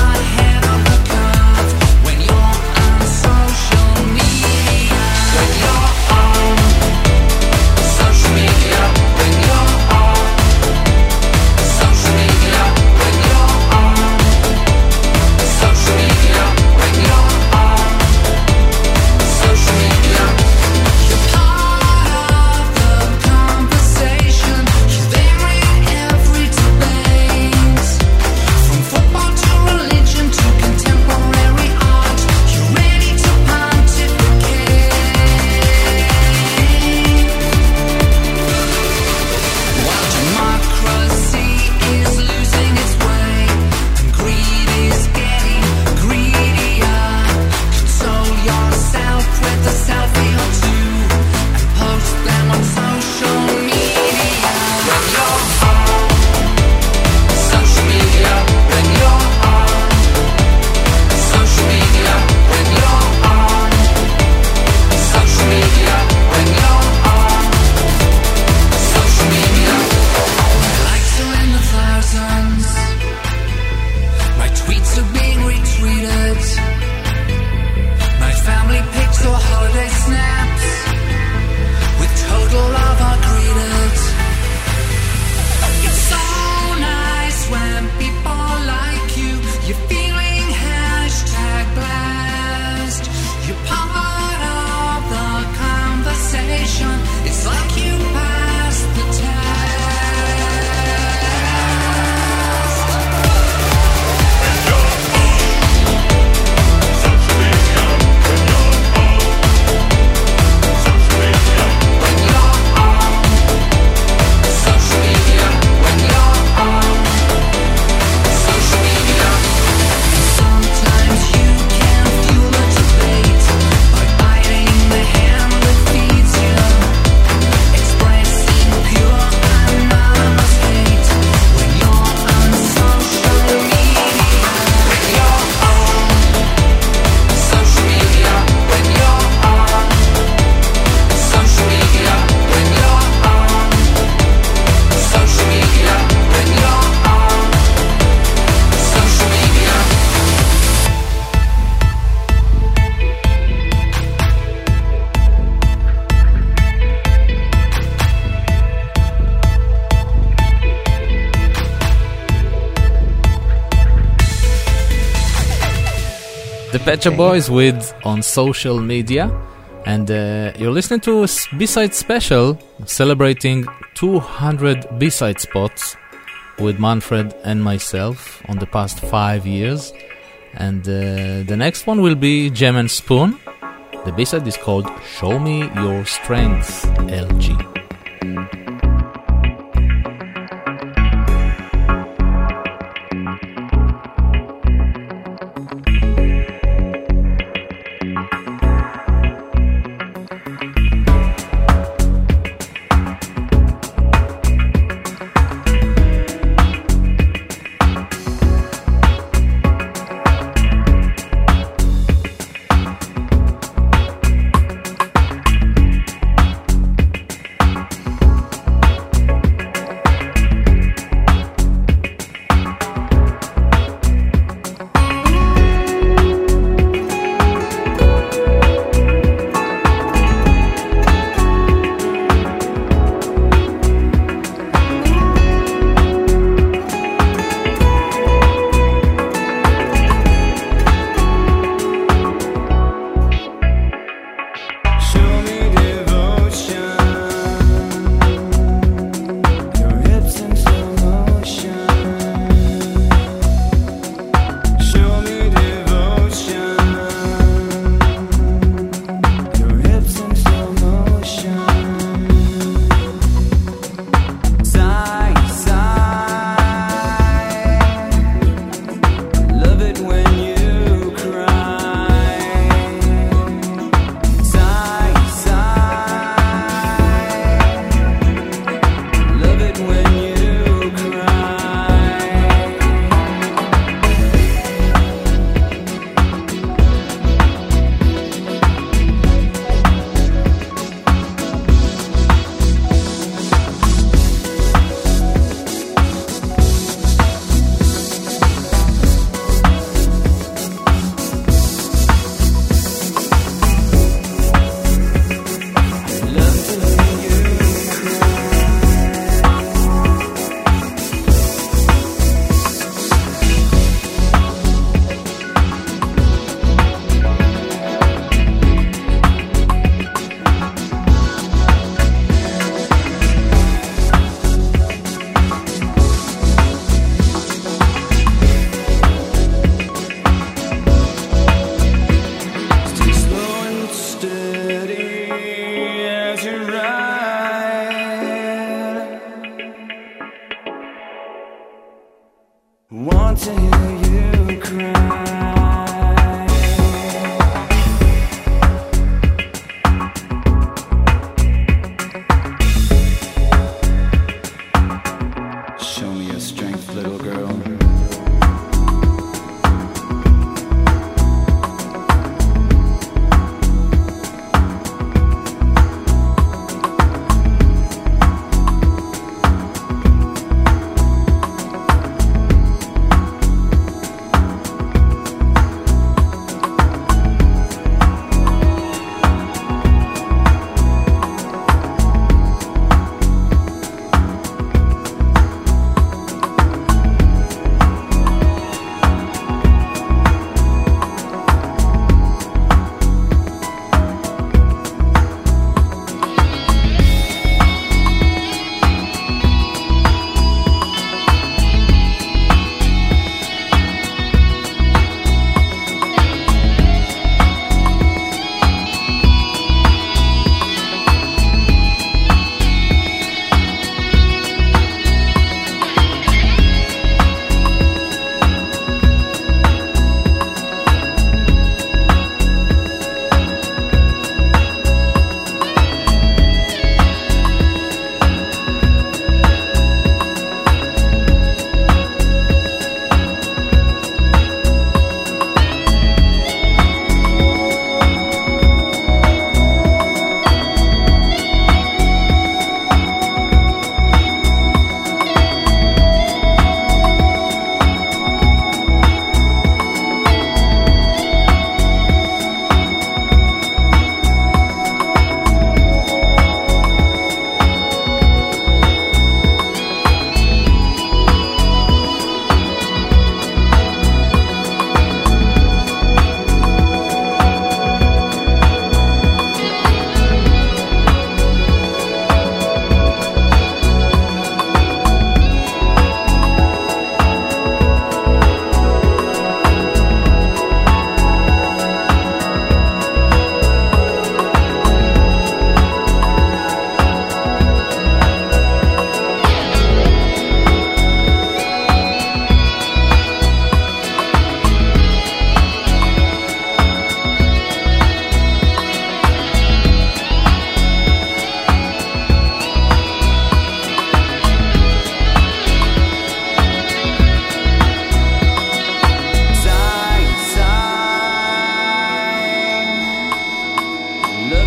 When you're Pet Shop Boys with On Social Media. And you're listening to a B-side special celebrating 200 B-side spots with Manfred and myself on the past 5 years. And the next one will be Gem and Spoon. The B-side is called Show Me Your Strength, LG.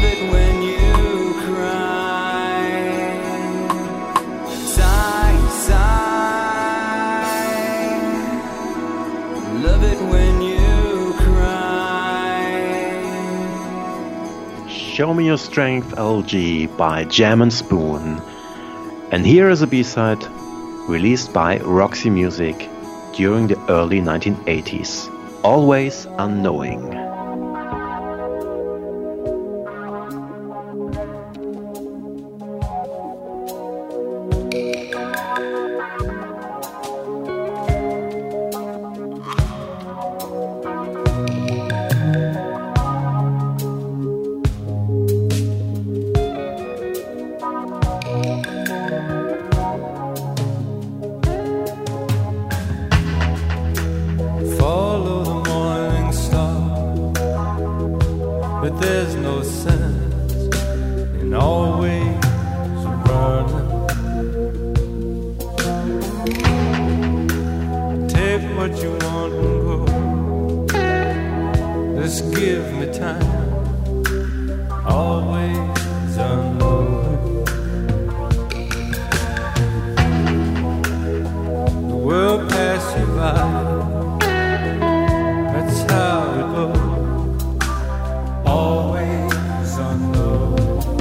it when you cry. Sigh, sigh. Love it when you cry. Show Me Your Strength, LG by Jam and Spoon. And here is a B-side released by Roxy Music during the early 1980s. Always Unknowing. Follow the morning star, but there's no sense in always running. Take what you want and go. Just give me time. Always unknowing. The world pass you by. That's how it goes. Always unknown.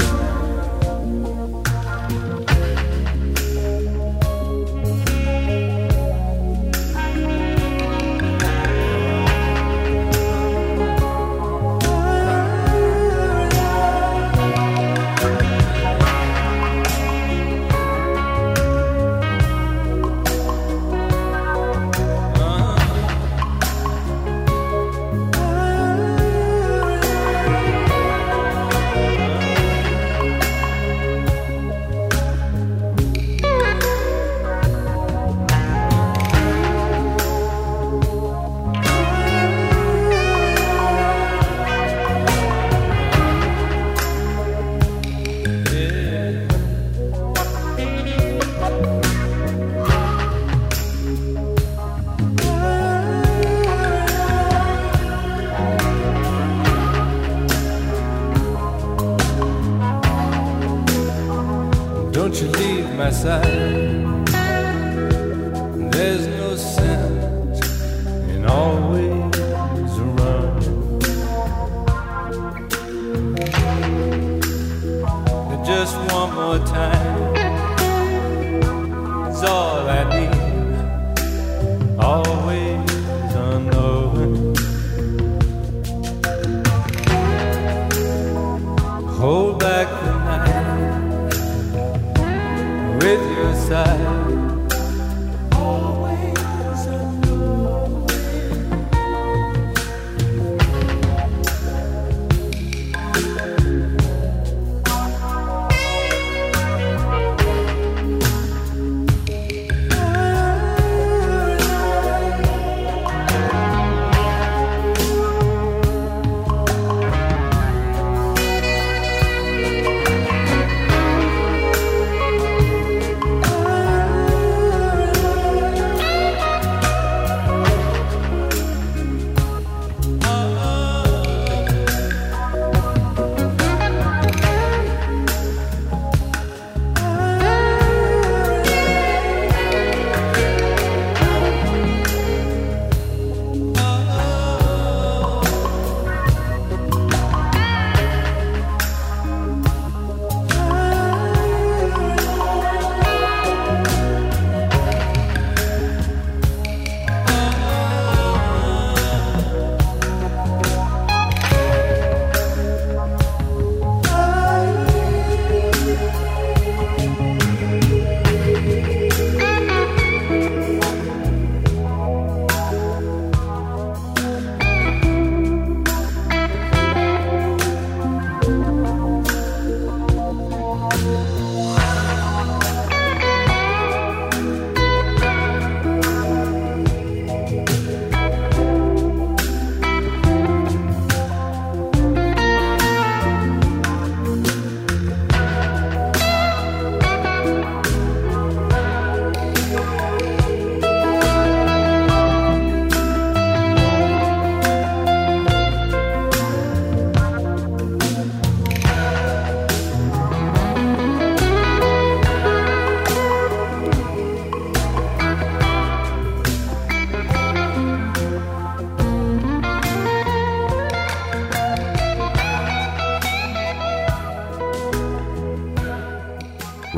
Don't you leave my side. There's no sense in always running. Just one more time is all I need. Always unknowing. Hold back the night with your side. Always unknowing.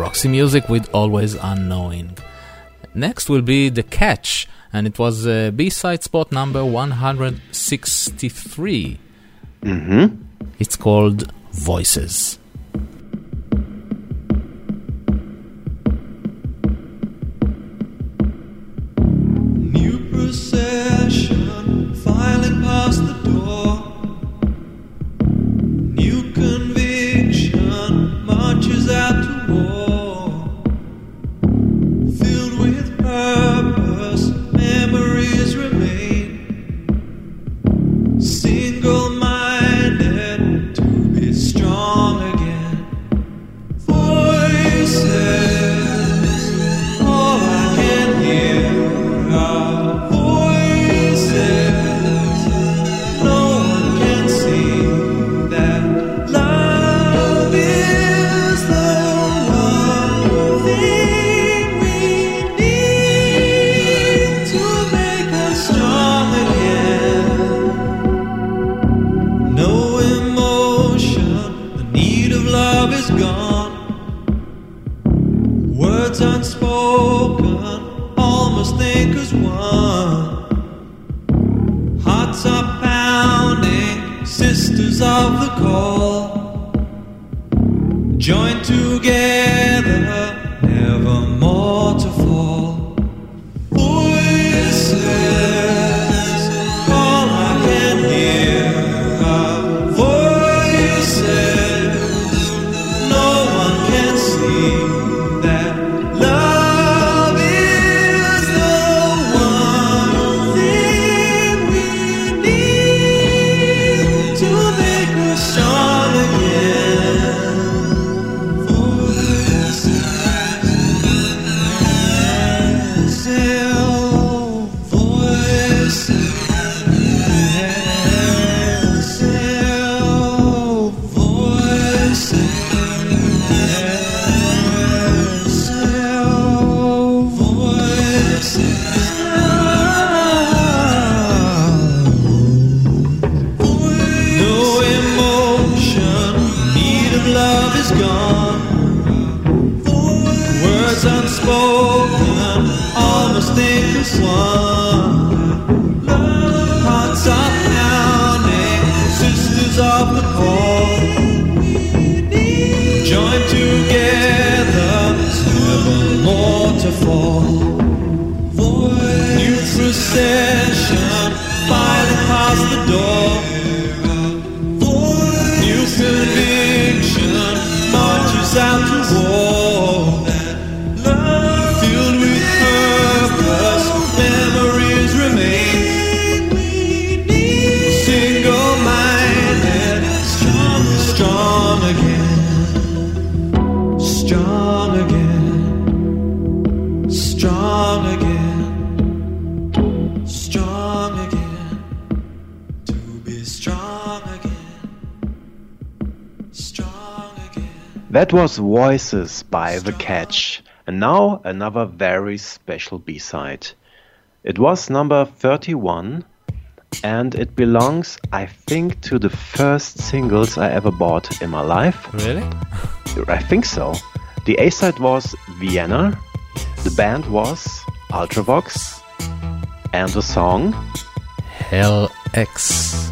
Roxy Music with Always Unknowing. Next will be The Catch, and it was B-side spot number 163. It's called Voices. New procession filing past the door. New conviction marches out to war. Filled with purpose, memories remain. Single-minded to be strong again. Voices, all I can hear are voices. No one can see that love is the one thing we need to make us strong again. No emotion, the need of love is gone. Words unspoken, almost think as one. Hearts are pounding, sisters of the call. Joined together, never more to fall. Voices, all I can hear are voices. No one can see that love is the one thing we need to make us strong again. Voices, no emotion, need of love is gone. Words unspoken, almost think as one. Hearts are pounding, sisters of the call. Joined together, never more to fall. New procession, filing past the door. New conviction marches out to war. Filled with purpose, memories remain. Single-minded, strong again. Strong again. Strong again. Strong again. To be strong again. Strong again. That was Voices by The Catch. And now another very special B-side. It was number 31, and it belongs, I think, to the first singles I ever bought in my life. Really? I think so. The A-side was Vienna, the band was Ultravox, and the song Hell X.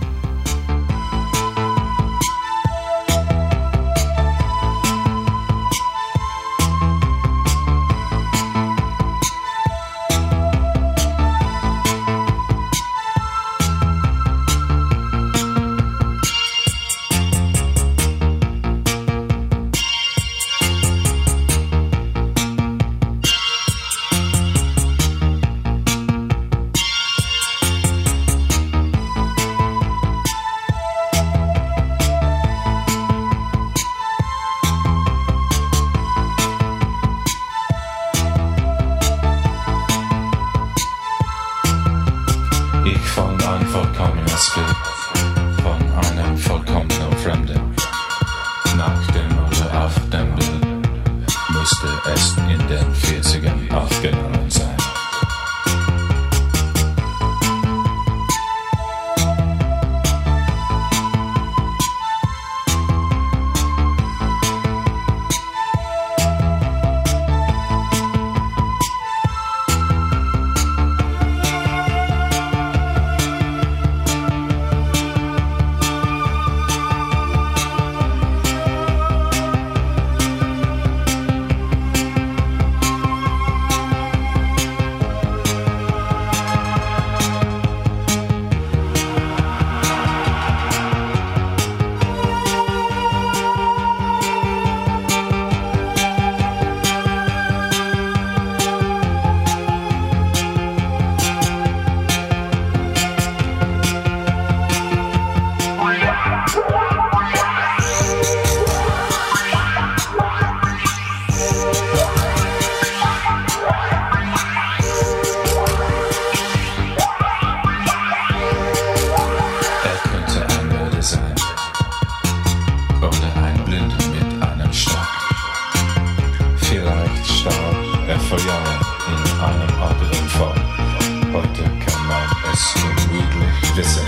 vor Jahren in einem Autounfall. Heute kann man es unmöglich wissen.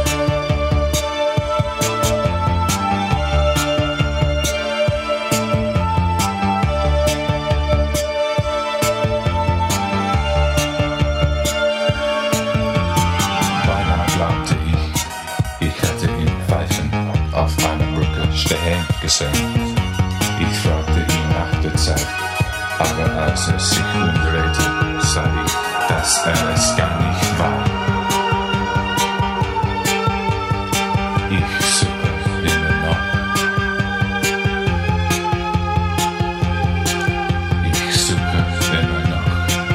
Beinahe glaubte ich hätte ihn pfeifen auf einer Brücke stehen gesehen. Ich fragte ihn nach der Zeit, aber als er sich umdrehte, sah ich, dass er es gar nicht war. Ich suche immer noch. Ich suche immer noch.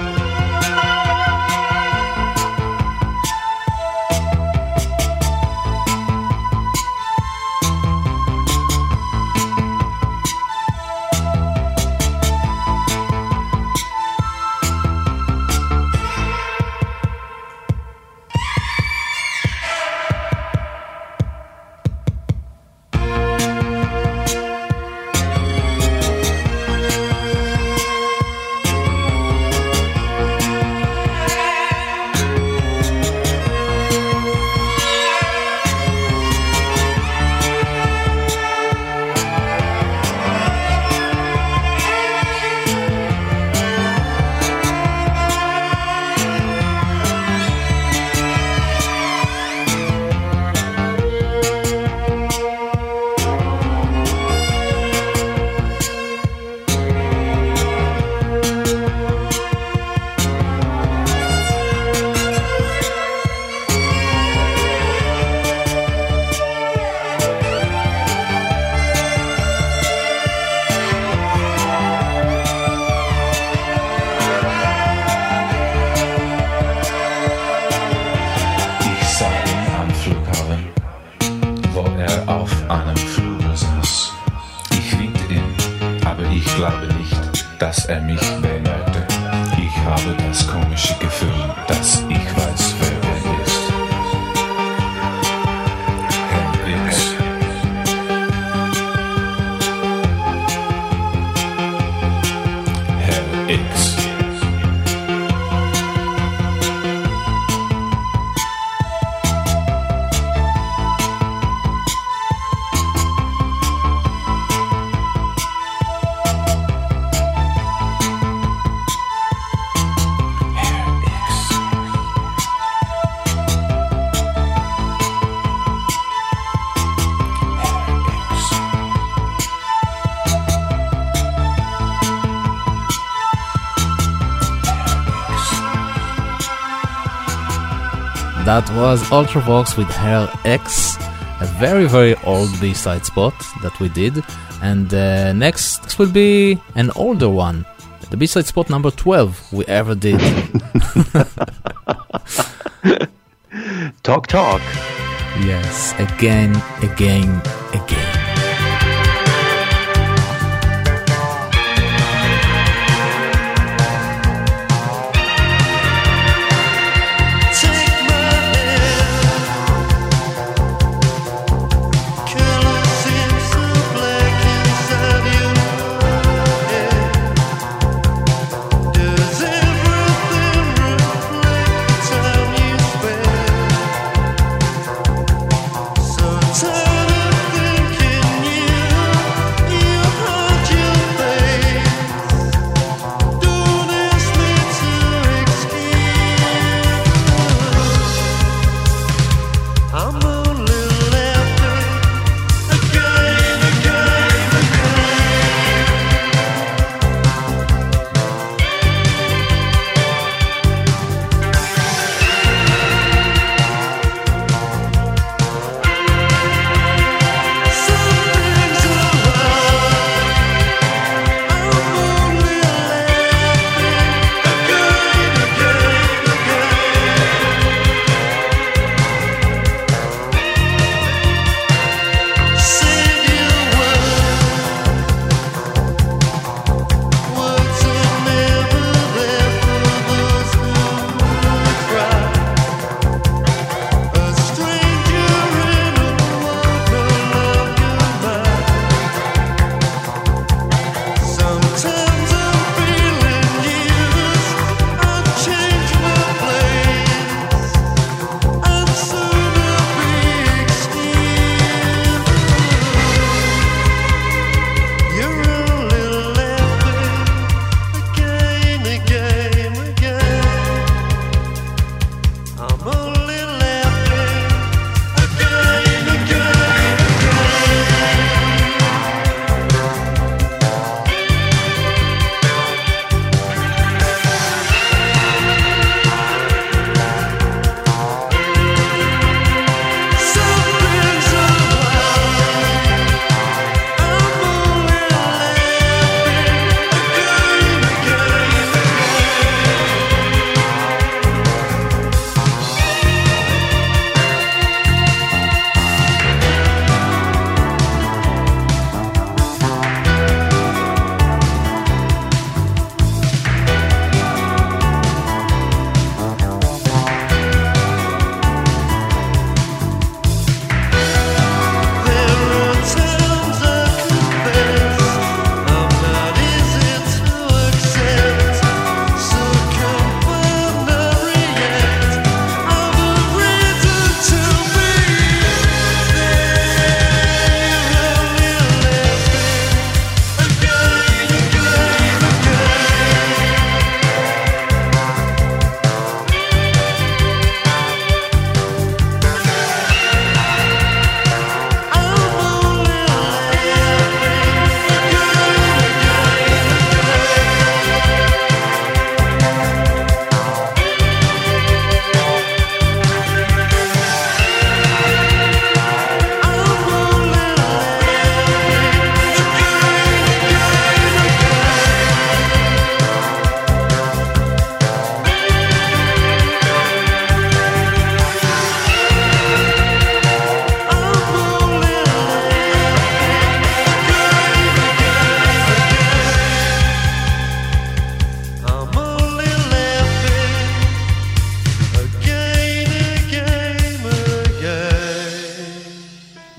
Dass er mich bemerkte. Ich habe das komische Gefühl, dass ich weiß, wer er ist. Herr X. Herr X. That was Ultravox with Hell X, a very, very old B-side spot that we did. And next will be an older one, the B-side spot number 12 we ever did. Talk. Yes, again. So turn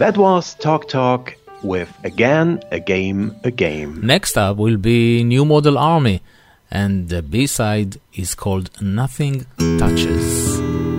That was Talk Talk with Again, a Game, a Game. Next up will be New Model Army, and the B-side is called Nothing Touches.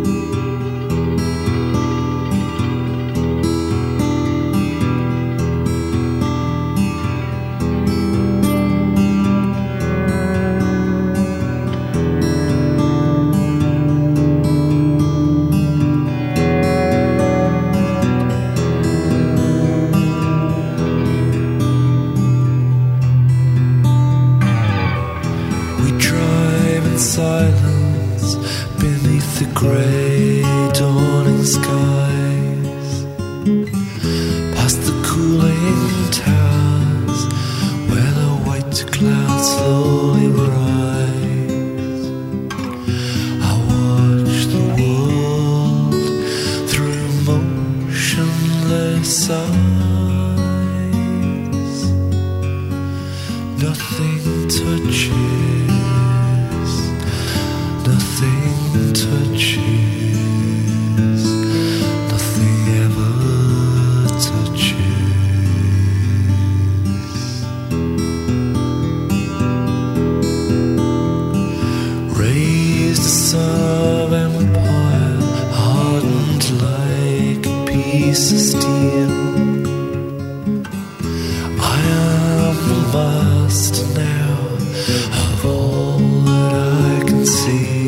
We drive in silence beneath the grey dawning skies, past the cooling towers where the white clouds slowly rise. I watch the world through motionless eyes. Nothing touches, nothing touches, nothing ever touches. Raised the son of empire, hardened like a piece of steel. I am the master now of all that I can see.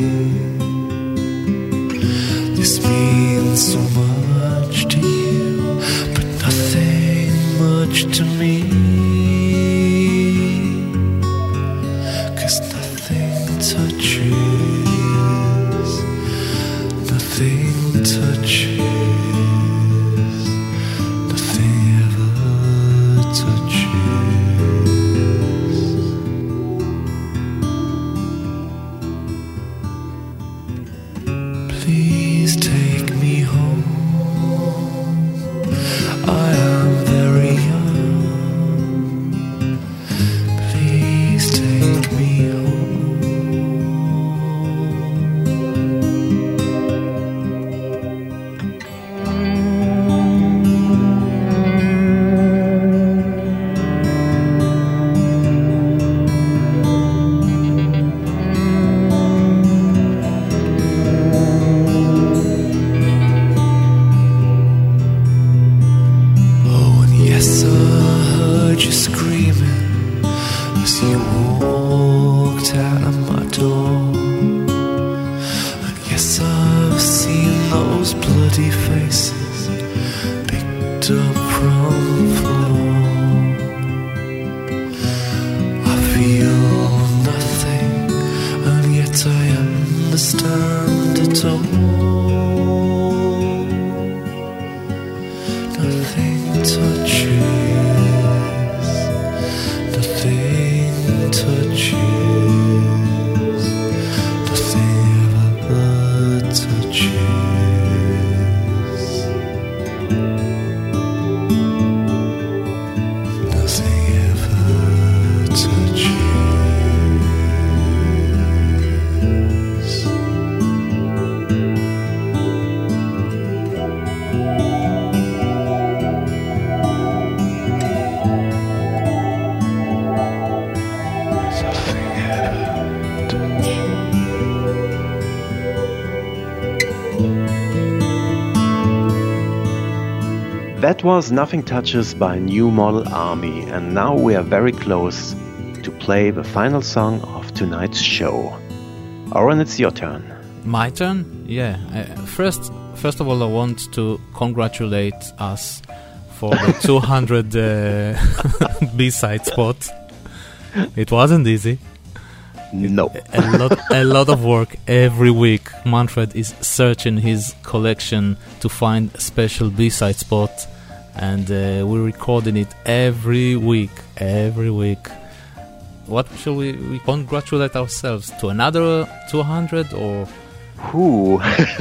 This means so much to you, but nothing much to me. 'Cause nothing touches, nothing touches, nothing ever touches. Please take me home. I am very young. Please take me home. Oh, and yes, I heard you screaming as you walked out of my door. And yes, I've seen those bloody faces picked up from the floor. I feel nothing, and yet I understand it all. Nothing touches, nothing touches, nothing ever touches, nothing ever touches. That was Nothing Touches by New Model Army, and now we are very close to play the final song of tonight's show. Oren, it's your turn. My turn? Yeah. First of all, I want to congratulate us for the 200 B-side spot. It wasn't easy. No. A lot of work every week. Manfred is searching his collection to find a special B-side spot, and we're recording it every week. What shall we congratulate ourselves to? Another 200 or? Who?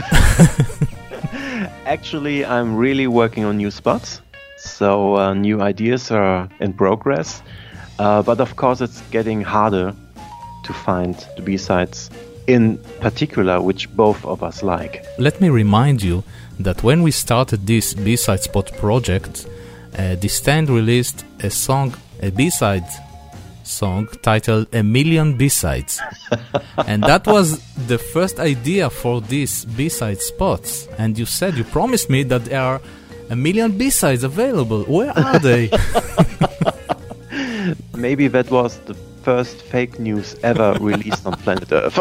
Actually, I'm really working on new spots, so new ideas are in progress. But of course, it's getting harder to find the B-sides in particular which both of us like. Let me remind you that when we started this B-Side Spot project, the stand released a B-side song titled A Million B-Sides. And that was the first idea for these B-side spots. And you promised me that there are a million B-sides available. Where are they? Maybe that was the first fake news ever released on planet Earth.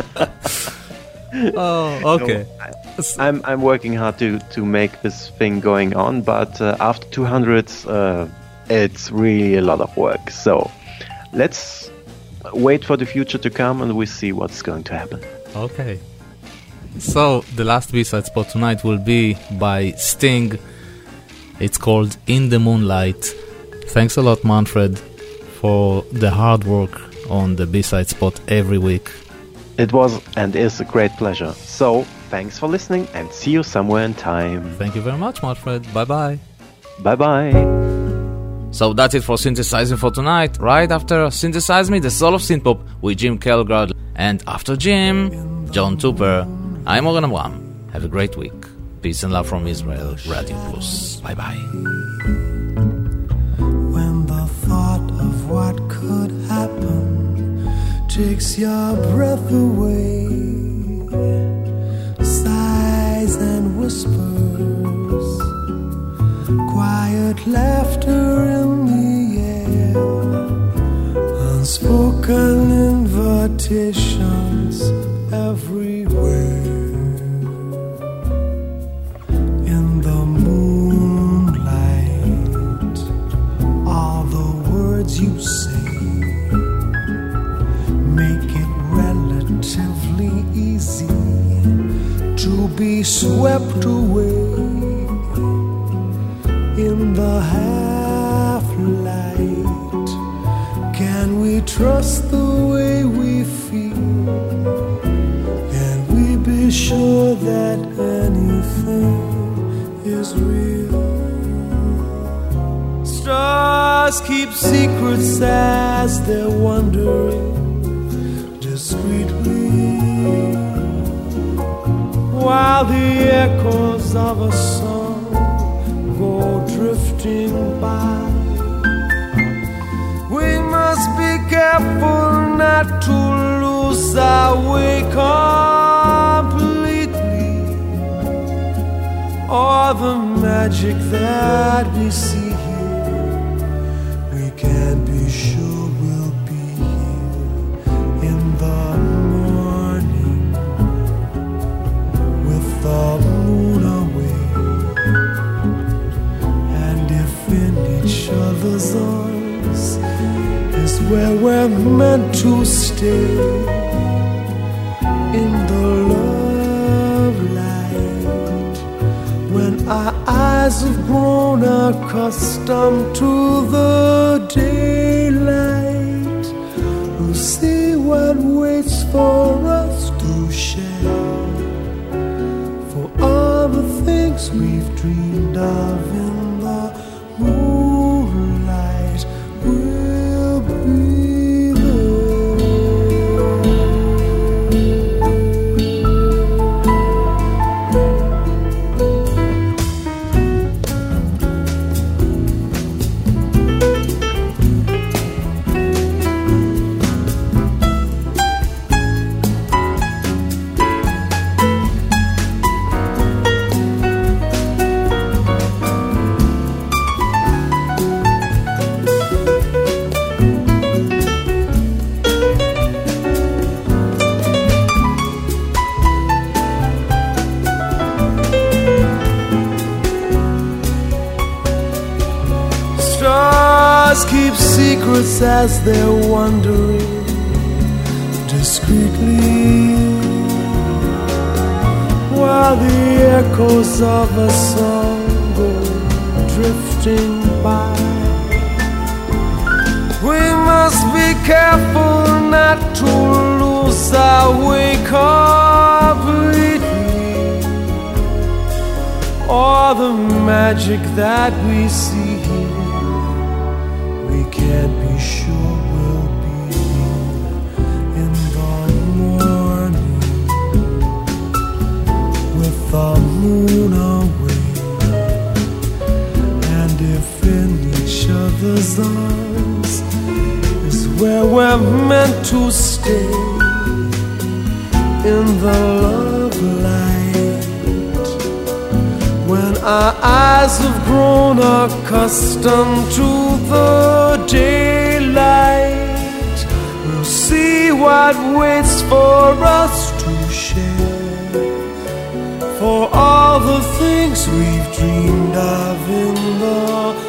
Oh, okay. No, I'm working hard to make this thing going on, but after 200, it's really a lot of work. So let's wait for the future to come and we see what's going to happen. Okay. So the last B-side spot tonight will be by Sting. It's called In the Moonlight. Thanks a lot, Manfred, for the hard work on the B-side spot every week. It was and is a great pleasure. So, thanks for listening and see you somewhere in time. Thank you very much, Manfred. Bye-bye. Bye-bye. So that's it for Synthesizing for tonight. Right after Synthesize Me, the Soul of Synthpop with Jim Kelgard. And after Jim, John Tupper. I'm Oren Amram. Have a great week. Peace and love from Israel. Radio Plus. Bye-bye. When the thought of what could happen takes your breath away, sighs and whispers, quiet laughter in the air, unspoken invitations everywhere. In the moonlight, all the words you say make it relatively easy to be swept away in the half light. Can we trust the way we feel? Can we be sure that anything is real? Stars keep secrets as they're wandering discreetly, while the echoes of a song go drifting by. We must be careful not to lose our way completely, or the magic that we see here. We can't be sure we'll be here in the morning with the moon away, and if in each other's arms is where we're meant to stay, in the love light, when our eyes have grown accustomed to the daylight, we'll see what waits for us to share, for all the things we've dreamed of in the moonlight will be there. Stars keep secrets as they're wandering discreetly, while the echoes of a song go drifting by. We must be careful not to lose our way completely, or the magic that we see here. We can't be sure we'll be here in the morning stars is where we're meant to stay in the love light. When our eyes have grown accustomed to the daylight, we'll see what waits for us to share. For all the things we've dreamed of in the